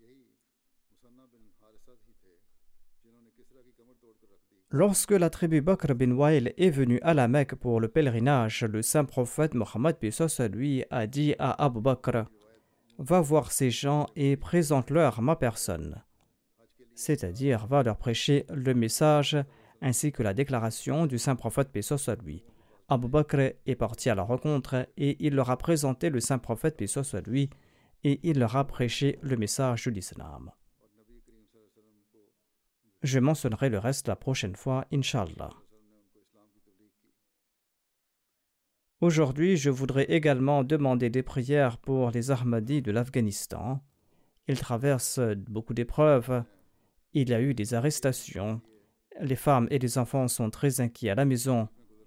Lorsque la tribu Bakr bin Wa'il est venue à la Mecque pour le pèlerinage, le saint prophète Mohammed, paix soit lui, a dit à Abu Bakr « Va voir ces gens et présente-leur ma personne. » C'est-à-dire, va leur prêcher le message ainsi que la déclaration du saint prophète, paix soit lui. Abu Bakr est parti à la rencontre et il leur a présenté le saint prophète, paix soit lui, et il leur a prêché le message de l'islam. Je mentionnerai le reste la prochaine fois, Inch'Allah. Aujourd'hui, je voudrais également demander des prières pour les Ahmadis de l'Afghanistan. Ils traversent beaucoup d'épreuves. Il y a eu des arrestations. Les femmes et les enfants sont très inquiets à la maison.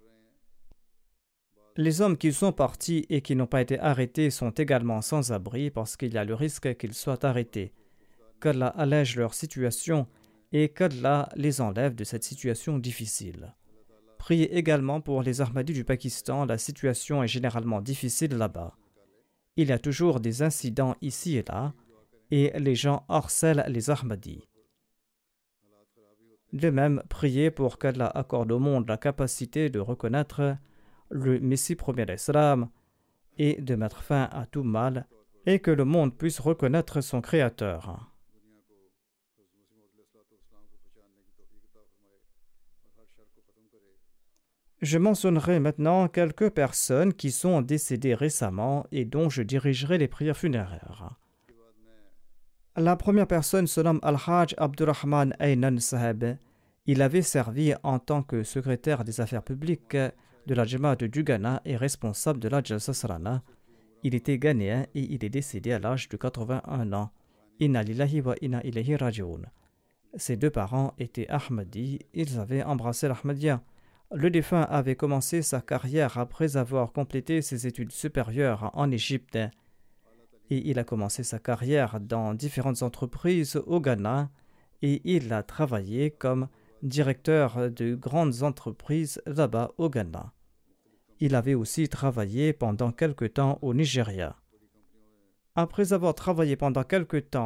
Les hommes qui sont partis et qui n'ont pas été arrêtés sont également sans abri parce qu'il y a le risque qu'ils soient arrêtés. Qu'Allah allège leur situation et qu'Allah les enlève de cette situation difficile. Priez également pour les Ahmadis du Pakistan, la situation est généralement difficile là-bas. Il y a toujours des incidents ici et là, et les gens harcèlent les Ahmadis. De même, priez pour qu'Allah accorde au monde la capacité de reconnaître le Messie premier d'Islam et de mettre fin à tout mal, et que le monde puisse reconnaître son Créateur. Je mentionnerai maintenant quelques personnes qui sont décédées récemment et dont je dirigerai les prières funéraires. La première personne se nomme Al-Hajj Abdurrahman Aynan Saheb. Il avait servi en tant que secrétaire des affaires publiques de la Jamaat du Ghana et responsable de la Jalsa Salana. Il était ghanéen et il est décédé à l'âge de quatre-vingt-un ans. Inna lillahi wa inna ilayhi raji'un. Ses deux parents étaient Ahmadis, ils avaient embrassé l'Ahmadiyya. Le défunt avait commencé sa carrière après avoir complété ses études supérieures en Égypte et il a commencé sa carrière dans différentes entreprises au Ghana et il a travaillé comme directeur de grandes entreprises là-bas au Ghana. Il avait aussi travaillé pendant quelque temps au Nigeria. Après avoir travaillé pendant quelque temps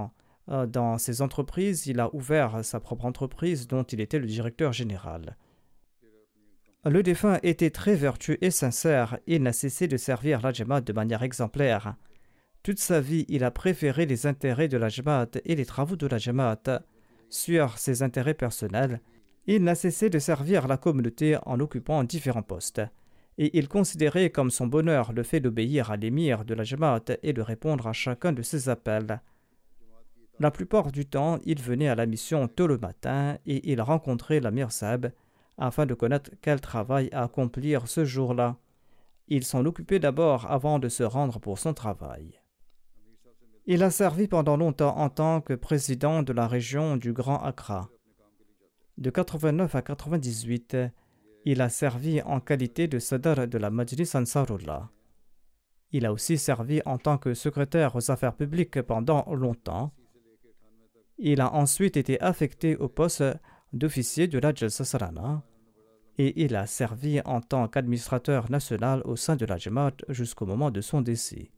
dans ses entreprises. Il a ouvert sa propre entreprise dont il était le directeur général. Le défunt était très vertueux et sincère. Il n'a cessé de servir la Jamaat de manière exemplaire. Toute sa vie, il a préféré les intérêts de la Jamaat et les travaux de la Jamaat sur ses intérêts personnels. Il n'a cessé de servir la communauté en occupant différents postes. Et il considérait comme son bonheur le fait d'obéir à l'émir de la Jamaat et de répondre à chacun de ses appels. La plupart du temps, il venait à la mission tôt le matin et il rencontrait l'Amir Saheb afin de connaître quel travail à accomplir ce jour-là. Il s'en occupait d'abord avant de se rendre pour son travail. Il a servi pendant longtemps en tant que président de la région du Grand Accra. De quatre-vingt-neuf à quatre-vingt-dix-huit, il a servi en qualité de Sadr de la Majlis Ansarullah. Il a aussi servi en tant que secrétaire aux affaires publiques pendant longtemps. Il a ensuite été affecté au poste d'officier de la Jalsa Salana et il a servi en tant qu'administrateur national au sein de la Jamaat jusqu'au moment de son décès.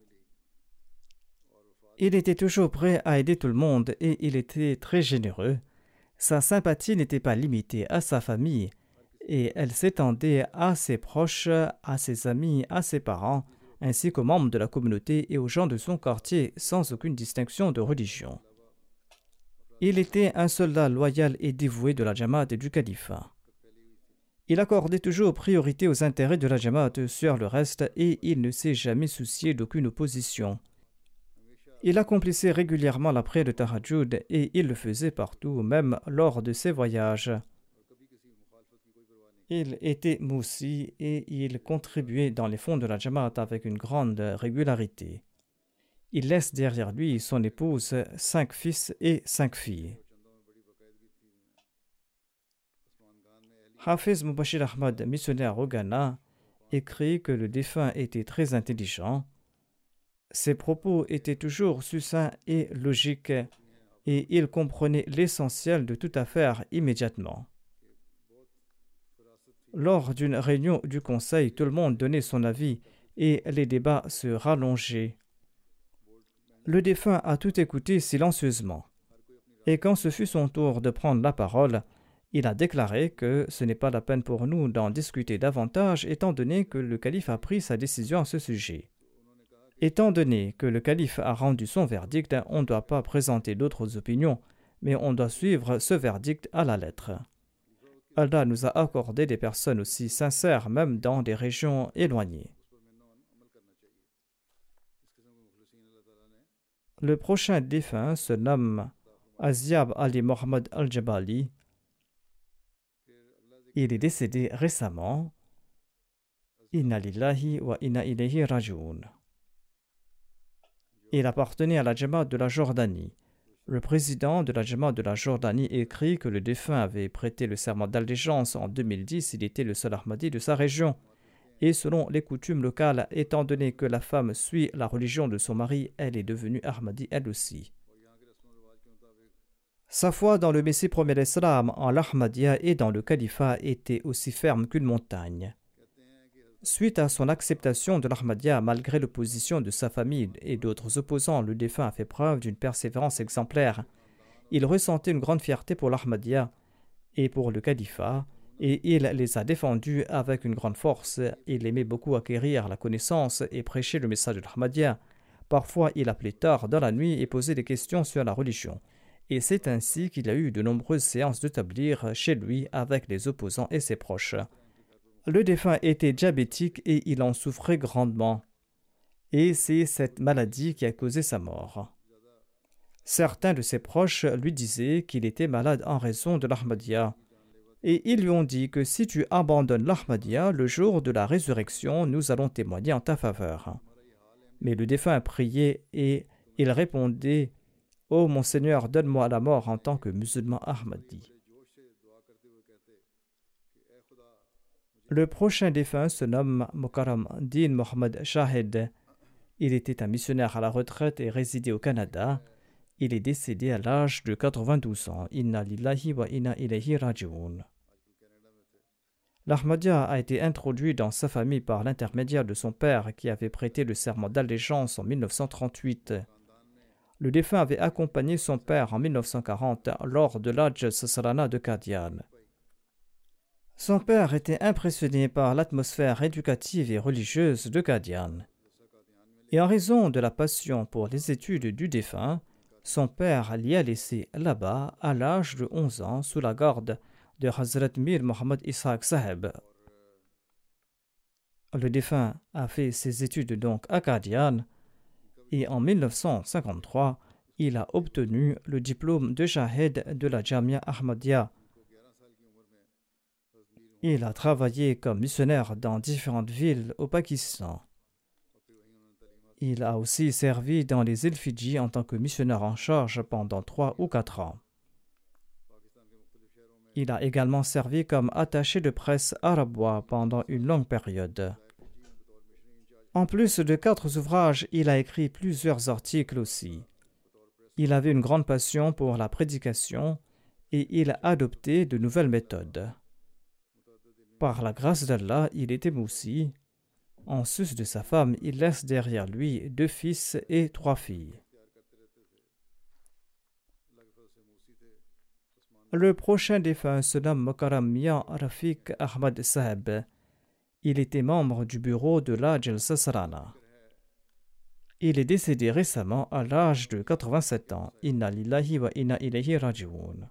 Il était toujours prêt à aider tout le monde et il était très généreux. Sa sympathie n'était pas limitée à sa famille et elle s'étendait à ses proches, à ses amis, à ses parents, ainsi qu'aux membres de la communauté et aux gens de son quartier sans aucune distinction de religion. Il était un soldat loyal et dévoué de la Jamaat et du califat. Il accordait toujours priorité aux intérêts de la Jamaat sur le reste et il ne s'est jamais soucié d'aucune opposition. Il accomplissait régulièrement la prière de Tahajjud et il le faisait partout, même lors de ses voyages. Il était moussi et il contribuait dans les fonds de la Jamaat avec une grande régularité. Il laisse derrière lui son épouse, cinq fils et cinq filles. Hafiz Mubashir Ahmad, missionnaire au Ghana, écrit que le défunt était très intelligent. Ses propos étaient toujours succincts et logiques et il comprenait l'essentiel de toute affaire immédiatement. Lors d'une réunion du conseil, tout le monde donnait son avis et les débats se rallongeaient. Le défunt a tout écouté silencieusement. Et quand ce fut son tour de prendre la parole, il a déclaré que ce n'est pas la peine pour nous d'en discuter davantage étant donné que le calife a pris sa décision à ce sujet. Étant donné que le calife a rendu son verdict, on ne doit pas présenter d'autres opinions, mais on doit suivre ce verdict à la lettre. Allah nous a accordé des personnes aussi sincères, même dans des régions éloignées. Le prochain défunt se nomme Azyab Ali Mohammed Al-Jabali. Il est décédé récemment. Inna lillahi wa inna ilayhi raji'un. Il appartenait à la Jamaat de la Jordanie. Le président de la Jamaat de la Jordanie écrit que le défunt avait prêté le serment d'allégeance en deux mille dix. Il était le seul Ahmadi de sa région. Et selon les coutumes locales, étant donné que la femme suit la religion de son mari, elle est devenue Ahmadi elle aussi. Sa foi dans le Messie premier d'Islam, en l'Ahmadiyya et dans le califat était aussi ferme qu'une montagne. Suite à son acceptation de l'Ahmadiyya, malgré l'opposition de sa famille et d'autres opposants, le défunt a fait preuve d'une persévérance exemplaire. Il ressentait une grande fierté pour l'Ahmadiyya et pour le califat, et il les a défendus avec une grande force. Il aimait beaucoup acquérir la connaissance et prêcher le message de l'Ahmadiyya. Parfois, il appelait tard dans la nuit et posait des questions sur la religion. Et c'est ainsi qu'il a eu de nombreuses séances de tabligh chez lui avec les opposants et ses proches. Le défunt était diabétique et il en souffrait grandement. Et c'est cette maladie qui a causé sa mort. Certains de ses proches lui disaient qu'il était malade en raison de l'Ahmadiyya. Et ils lui ont dit que si tu abandonnes l'Ahmadiyya, le jour de la résurrection, nous allons témoigner en ta faveur. Mais le défunt a prié et il répondait « Ô mon Seigneur, donne-moi la mort en tant que musulman Ahmadi. » Le prochain défunt se nomme Mukarram Din Mohammed Shahid. Il était un missionnaire à la retraite et résidait au Canada. Il est décédé à l'âge de quatre-vingt-douze ans. Inna lillahi wa inna ilayhi raji'un. L'Ahmadiyya a été introduit dans sa famille par l'intermédiaire de son père qui avait prêté le serment d'allégeance en mille neuf cent trente-huit. Le défunt avait accompagné son père en mille neuf cent quarante lors de l'Hajj Sassalana de Qadian. Son père était impressionné par l'atmosphère éducative et religieuse de Qadian. Et en raison de la passion pour les études du défunt, son père l'y a laissé là-bas à l'âge de onze ans sous la garde de Hazrat Mir Mohammad Ishaq Saheb. Le défunt a fait ses études donc à Qadian et en mille neuf cent cinquante-trois, il a obtenu le diplôme de Shahid de la Jamia Ahmadiyya. Il a travaillé comme missionnaire dans différentes villes au Pakistan. Il a aussi servi dans les îles Fidji en tant que missionnaire en charge pendant trois ou quatre ans. Il a également servi comme attaché de presse arabois pendant une longue période. En plus de quatre ouvrages, il a écrit plusieurs articles aussi. Il avait une grande passion pour la prédication et il a adopté de nouvelles méthodes. Par la grâce d'Allah, il était moussi. En sus de sa femme, il laisse derrière lui deux fils et trois filles. Le prochain défunt se nomme Mokaram Mian Rafiq Ahmad Saheb. Il était membre du bureau de l'Hajj Sassalana. Il est décédé récemment à l'âge de quatre-vingt-sept ans. Inna lillahi wa inna ilayhi raji'un.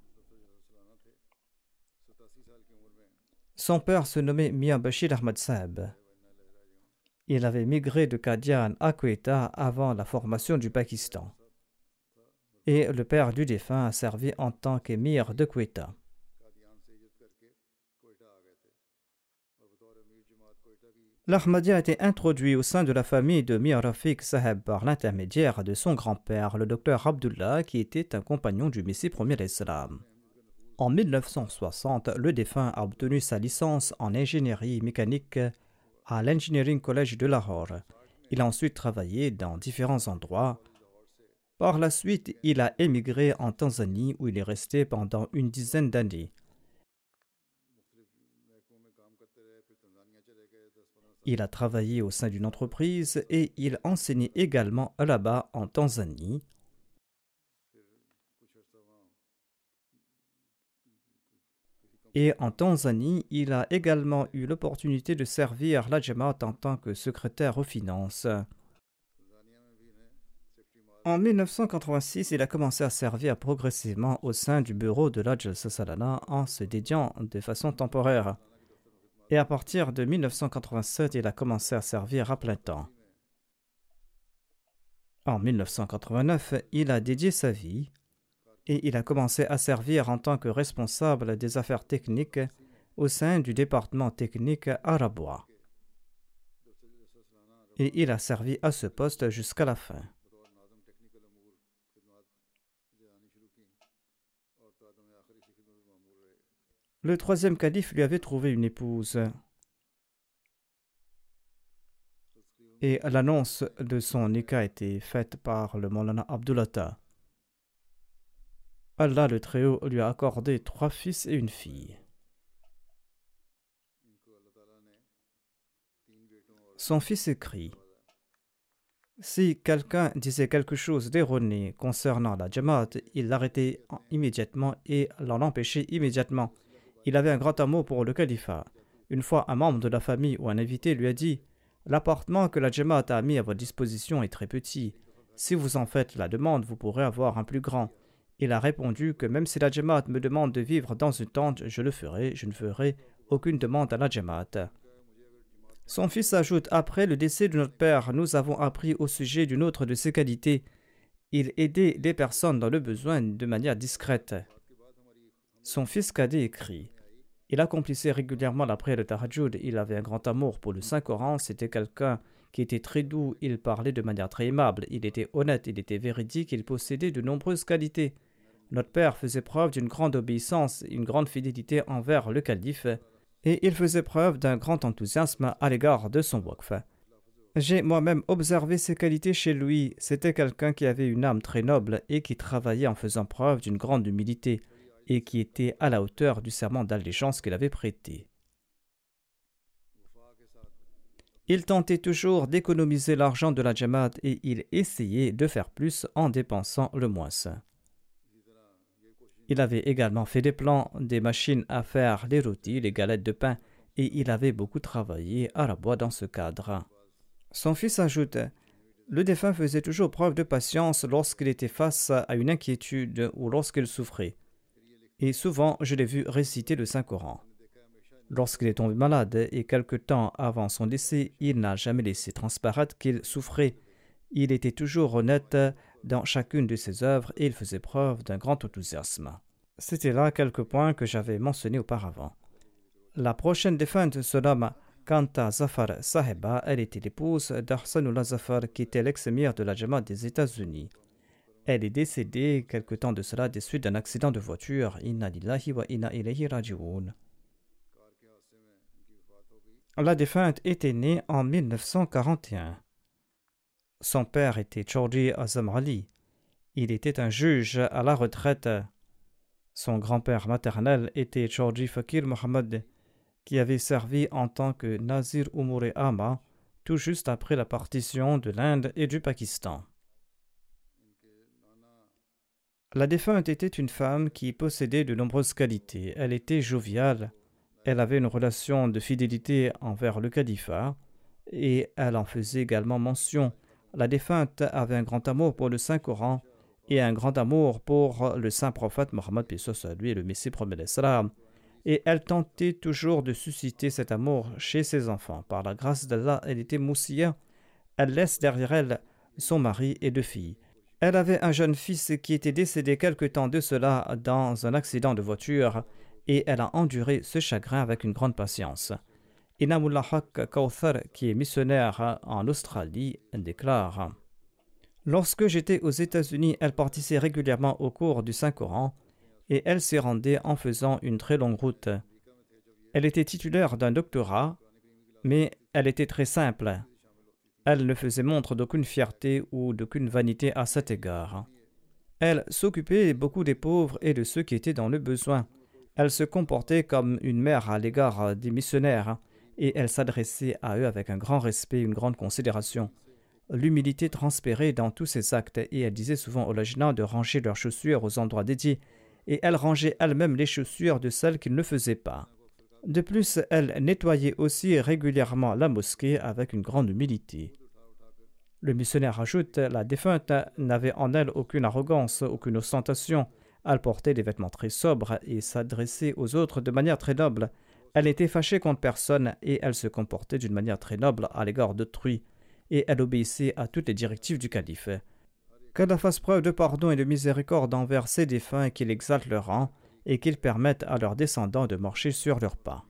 Son père se nommait Mian Bashir Ahmad Saheb. Il avait migré de Qadian à Quetta avant la formation du Pakistan. Et le père du défunt a servi en tant qu'émir de Quetta. L'Ahmadiyya a été introduit au sein de la famille de Mir Rafiq Saheb par l'intermédiaire de son grand-père, le docteur Abdullah, qui était un compagnon du Messie premier l'Islam. En mille neuf cent soixante, le défunt a obtenu sa licence en ingénierie mécanique à l'Engineering College de Lahore. Il a ensuite travaillé dans différents endroits. Par la suite, il a émigré en Tanzanie où il est resté pendant une dizaine d'années. Il a travaillé au sein d'une entreprise et il enseignait également là-bas en Tanzanie. Et en Tanzanie, il a également eu l'opportunité de servir la Jamaat en tant que secrétaire aux finances. En mille neuf cent quatre-vingt-six, il a commencé à servir progressivement au sein du bureau de l'Hajj Sassalana en se dédiant de façon temporaire. Et à partir de mille neuf cent quatre-vingt-sept, il a commencé à servir à plein temps. En mille neuf cent quatre-vingt-neuf, il a dédié sa vie et il a commencé à servir en tant que responsable des affaires techniques au sein du département technique arabois. Et il a servi à ce poste jusqu'à la fin. Le troisième calife lui avait trouvé une épouse. Et l'annonce de son nikah a été faite par le Maulana Abdulatta. Allah le Très-Haut lui a accordé trois fils et une fille. Son fils écrit: si quelqu'un disait quelque chose d'erroné concernant la Jamaat, il l'arrêtait immédiatement et l'en empêchait immédiatement. Il avait un grand amour pour le califat. Une fois, un membre de la famille ou un invité lui a dit: l'appartement que la Jamaat a mis à votre disposition est très petit. Si vous en faites la demande, vous pourrez avoir un plus grand. Il a répondu que même si la Jamaat me demande de vivre dans une tente, je le ferai, je ne ferai aucune demande à la Jamaat. Son fils ajoute: après le décès de notre père, nous avons appris au sujet d'une autre de ses qualités. Il aidait les personnes dans le besoin de manière discrète. Son fils cadet écrit: il accomplissait régulièrement la prière de Tahajjud, il avait un grand amour pour le Saint-Coran, c'était quelqu'un qui était très doux, il parlait de manière très aimable, il était honnête, il était véridique, il possédait de nombreuses qualités. Notre père faisait preuve d'une grande obéissance, une grande fidélité envers le calife, et il faisait preuve d'un grand enthousiasme à l'égard de son waqf. J'ai moi-même observé ces qualités chez lui, c'était quelqu'un qui avait une âme très noble et qui travaillait en faisant preuve d'une grande humilité, et qui était à la hauteur du serment d'allégeance qu'il avait prêté. Il tentait toujours d'économiser l'argent de la Jamaat et il essayait de faire plus en dépensant le moins. Il avait également fait des plans, des machines à faire les rôtis, les galettes de pain, et il avait beaucoup travaillé à la bois dans ce cadre. Son fils ajoute: le défunt faisait toujours preuve de patience lorsqu'il était face à une inquiétude ou lorsqu'il souffrait. Et souvent, je l'ai vu réciter le Saint-Coran. Lorsqu'il est tombé malade et quelque temps avant son décès, il n'a jamais laissé transparaître qu'il souffrait. Il était toujours honnête dans chacune de ses œuvres et il faisait preuve d'un grand enthousiasme. C'était là quelques points que j'avais mentionnés auparavant. La prochaine défunte se nomme Kanta Zafar Saheba. Elle était l'épouse d'Ahsanullah Zafar, qui était l'ex-émir de la Jamaat des États-Unis. Elle est décédée quelque temps de cela des suites d'un accident de voiture. Inna lillahi wa inna ilayhi raji'un. La défunte était née en mille neuf cent quarante et un. Son père était Chaudhry Azam Ali. Il était un juge à la retraite. Son grand-père maternel était Chaudhry Fakir Mohammad, qui avait servi en tant que Nazir Umur-e Amma tout juste après la partition de l'Inde et du Pakistan. La défunte était une femme qui possédait de nombreuses qualités. Elle était joviale, elle avait une relation de fidélité envers le califat et elle en faisait également mention. La défunte avait un grand amour pour le Saint-Coran et un grand amour pour le saint prophète Mohammed, paix soit lui, et le Messie promet l'Islam. Et elle tentait toujours de susciter cet amour chez ses enfants. Par la grâce d'Allah, elle était moussia. Elle laisse derrière elle son mari et deux filles. Elle avait un jeune fils qui était décédé quelque temps de cela dans un accident de voiture et elle a enduré ce chagrin avec une grande patience. Inamullah Haq Kauthar, qui est missionnaire en Australie, déclare: lorsque j'étais aux États-Unis, elle participait régulièrement au cours du Saint-Coran et elle s'y rendait en faisant une très longue route. Elle était titulaire d'un doctorat, mais elle était très simple. Elle ne faisait montre d'aucune fierté ou d'aucune vanité à cet égard. Elle s'occupait beaucoup des pauvres et de ceux qui étaient dans le besoin. Elle se comportait comme une mère à l'égard des missionnaires et elle s'adressait à eux avec un grand respect et une grande considération. L'humilité transpérait dans tous ses actes et elle disait souvent aux lajna de ranger leurs chaussures aux endroits dédiés et elle rangeait elle-même les chaussures de celles qu'ils ne faisaient pas. De plus, elle nettoyait aussi régulièrement la mosquée avec une grande humilité. Le missionnaire ajoute: la défunte n'avait en elle aucune arrogance, aucune ostentation. Elle portait des vêtements très sobres et s'adressait aux autres de manière très noble. Elle n'était fâchée contre personne et elle se comportait d'une manière très noble à l'égard d'autrui et elle obéissait à toutes les directives du calife. Qu'Allah fasse preuve de pardon et de miséricorde envers ses défunts et qu'il exalte leur rang et qu'il permette à leurs descendants de marcher sur leurs pas.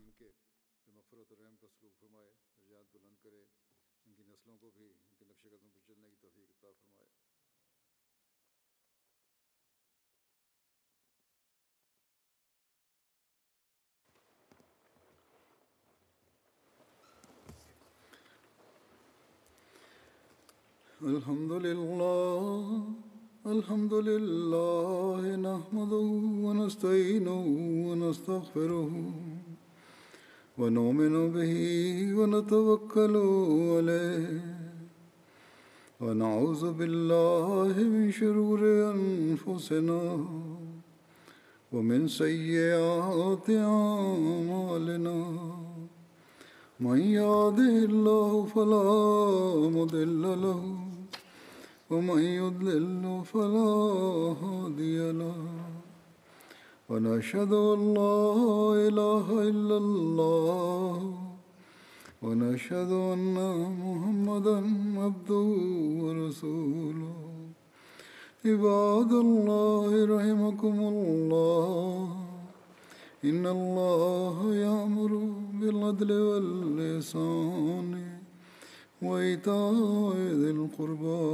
Alhamdulillah, alhamdulillah, nahmaduhu wa nasta'inuhu wa nastaghfiruhu wa nu'minu bihi wa natawakkalu alayhi wa na'udhu billahi min shururi anfusina wa min sayyiati a'malina. من يهده الله فلا مضل له ومن يضلل فلا هادي له ونشهد أن لا إله إلا الله ونشهد أن محمدا عبده ورسوله عباد الله رحمكم الله إن الله يأمر بالعدل والإحسان وإيتاء ذي القربى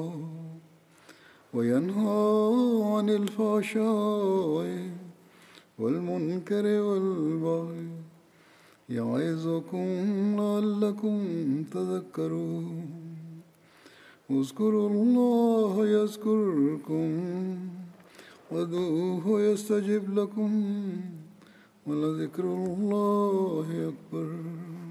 وينهى عن الفحشاء والمنكر والبغي يعظكم لعلكم تذكرون اذكروا الله يذكركم وادعوه يستجب لكم ولذكر الله أكبر.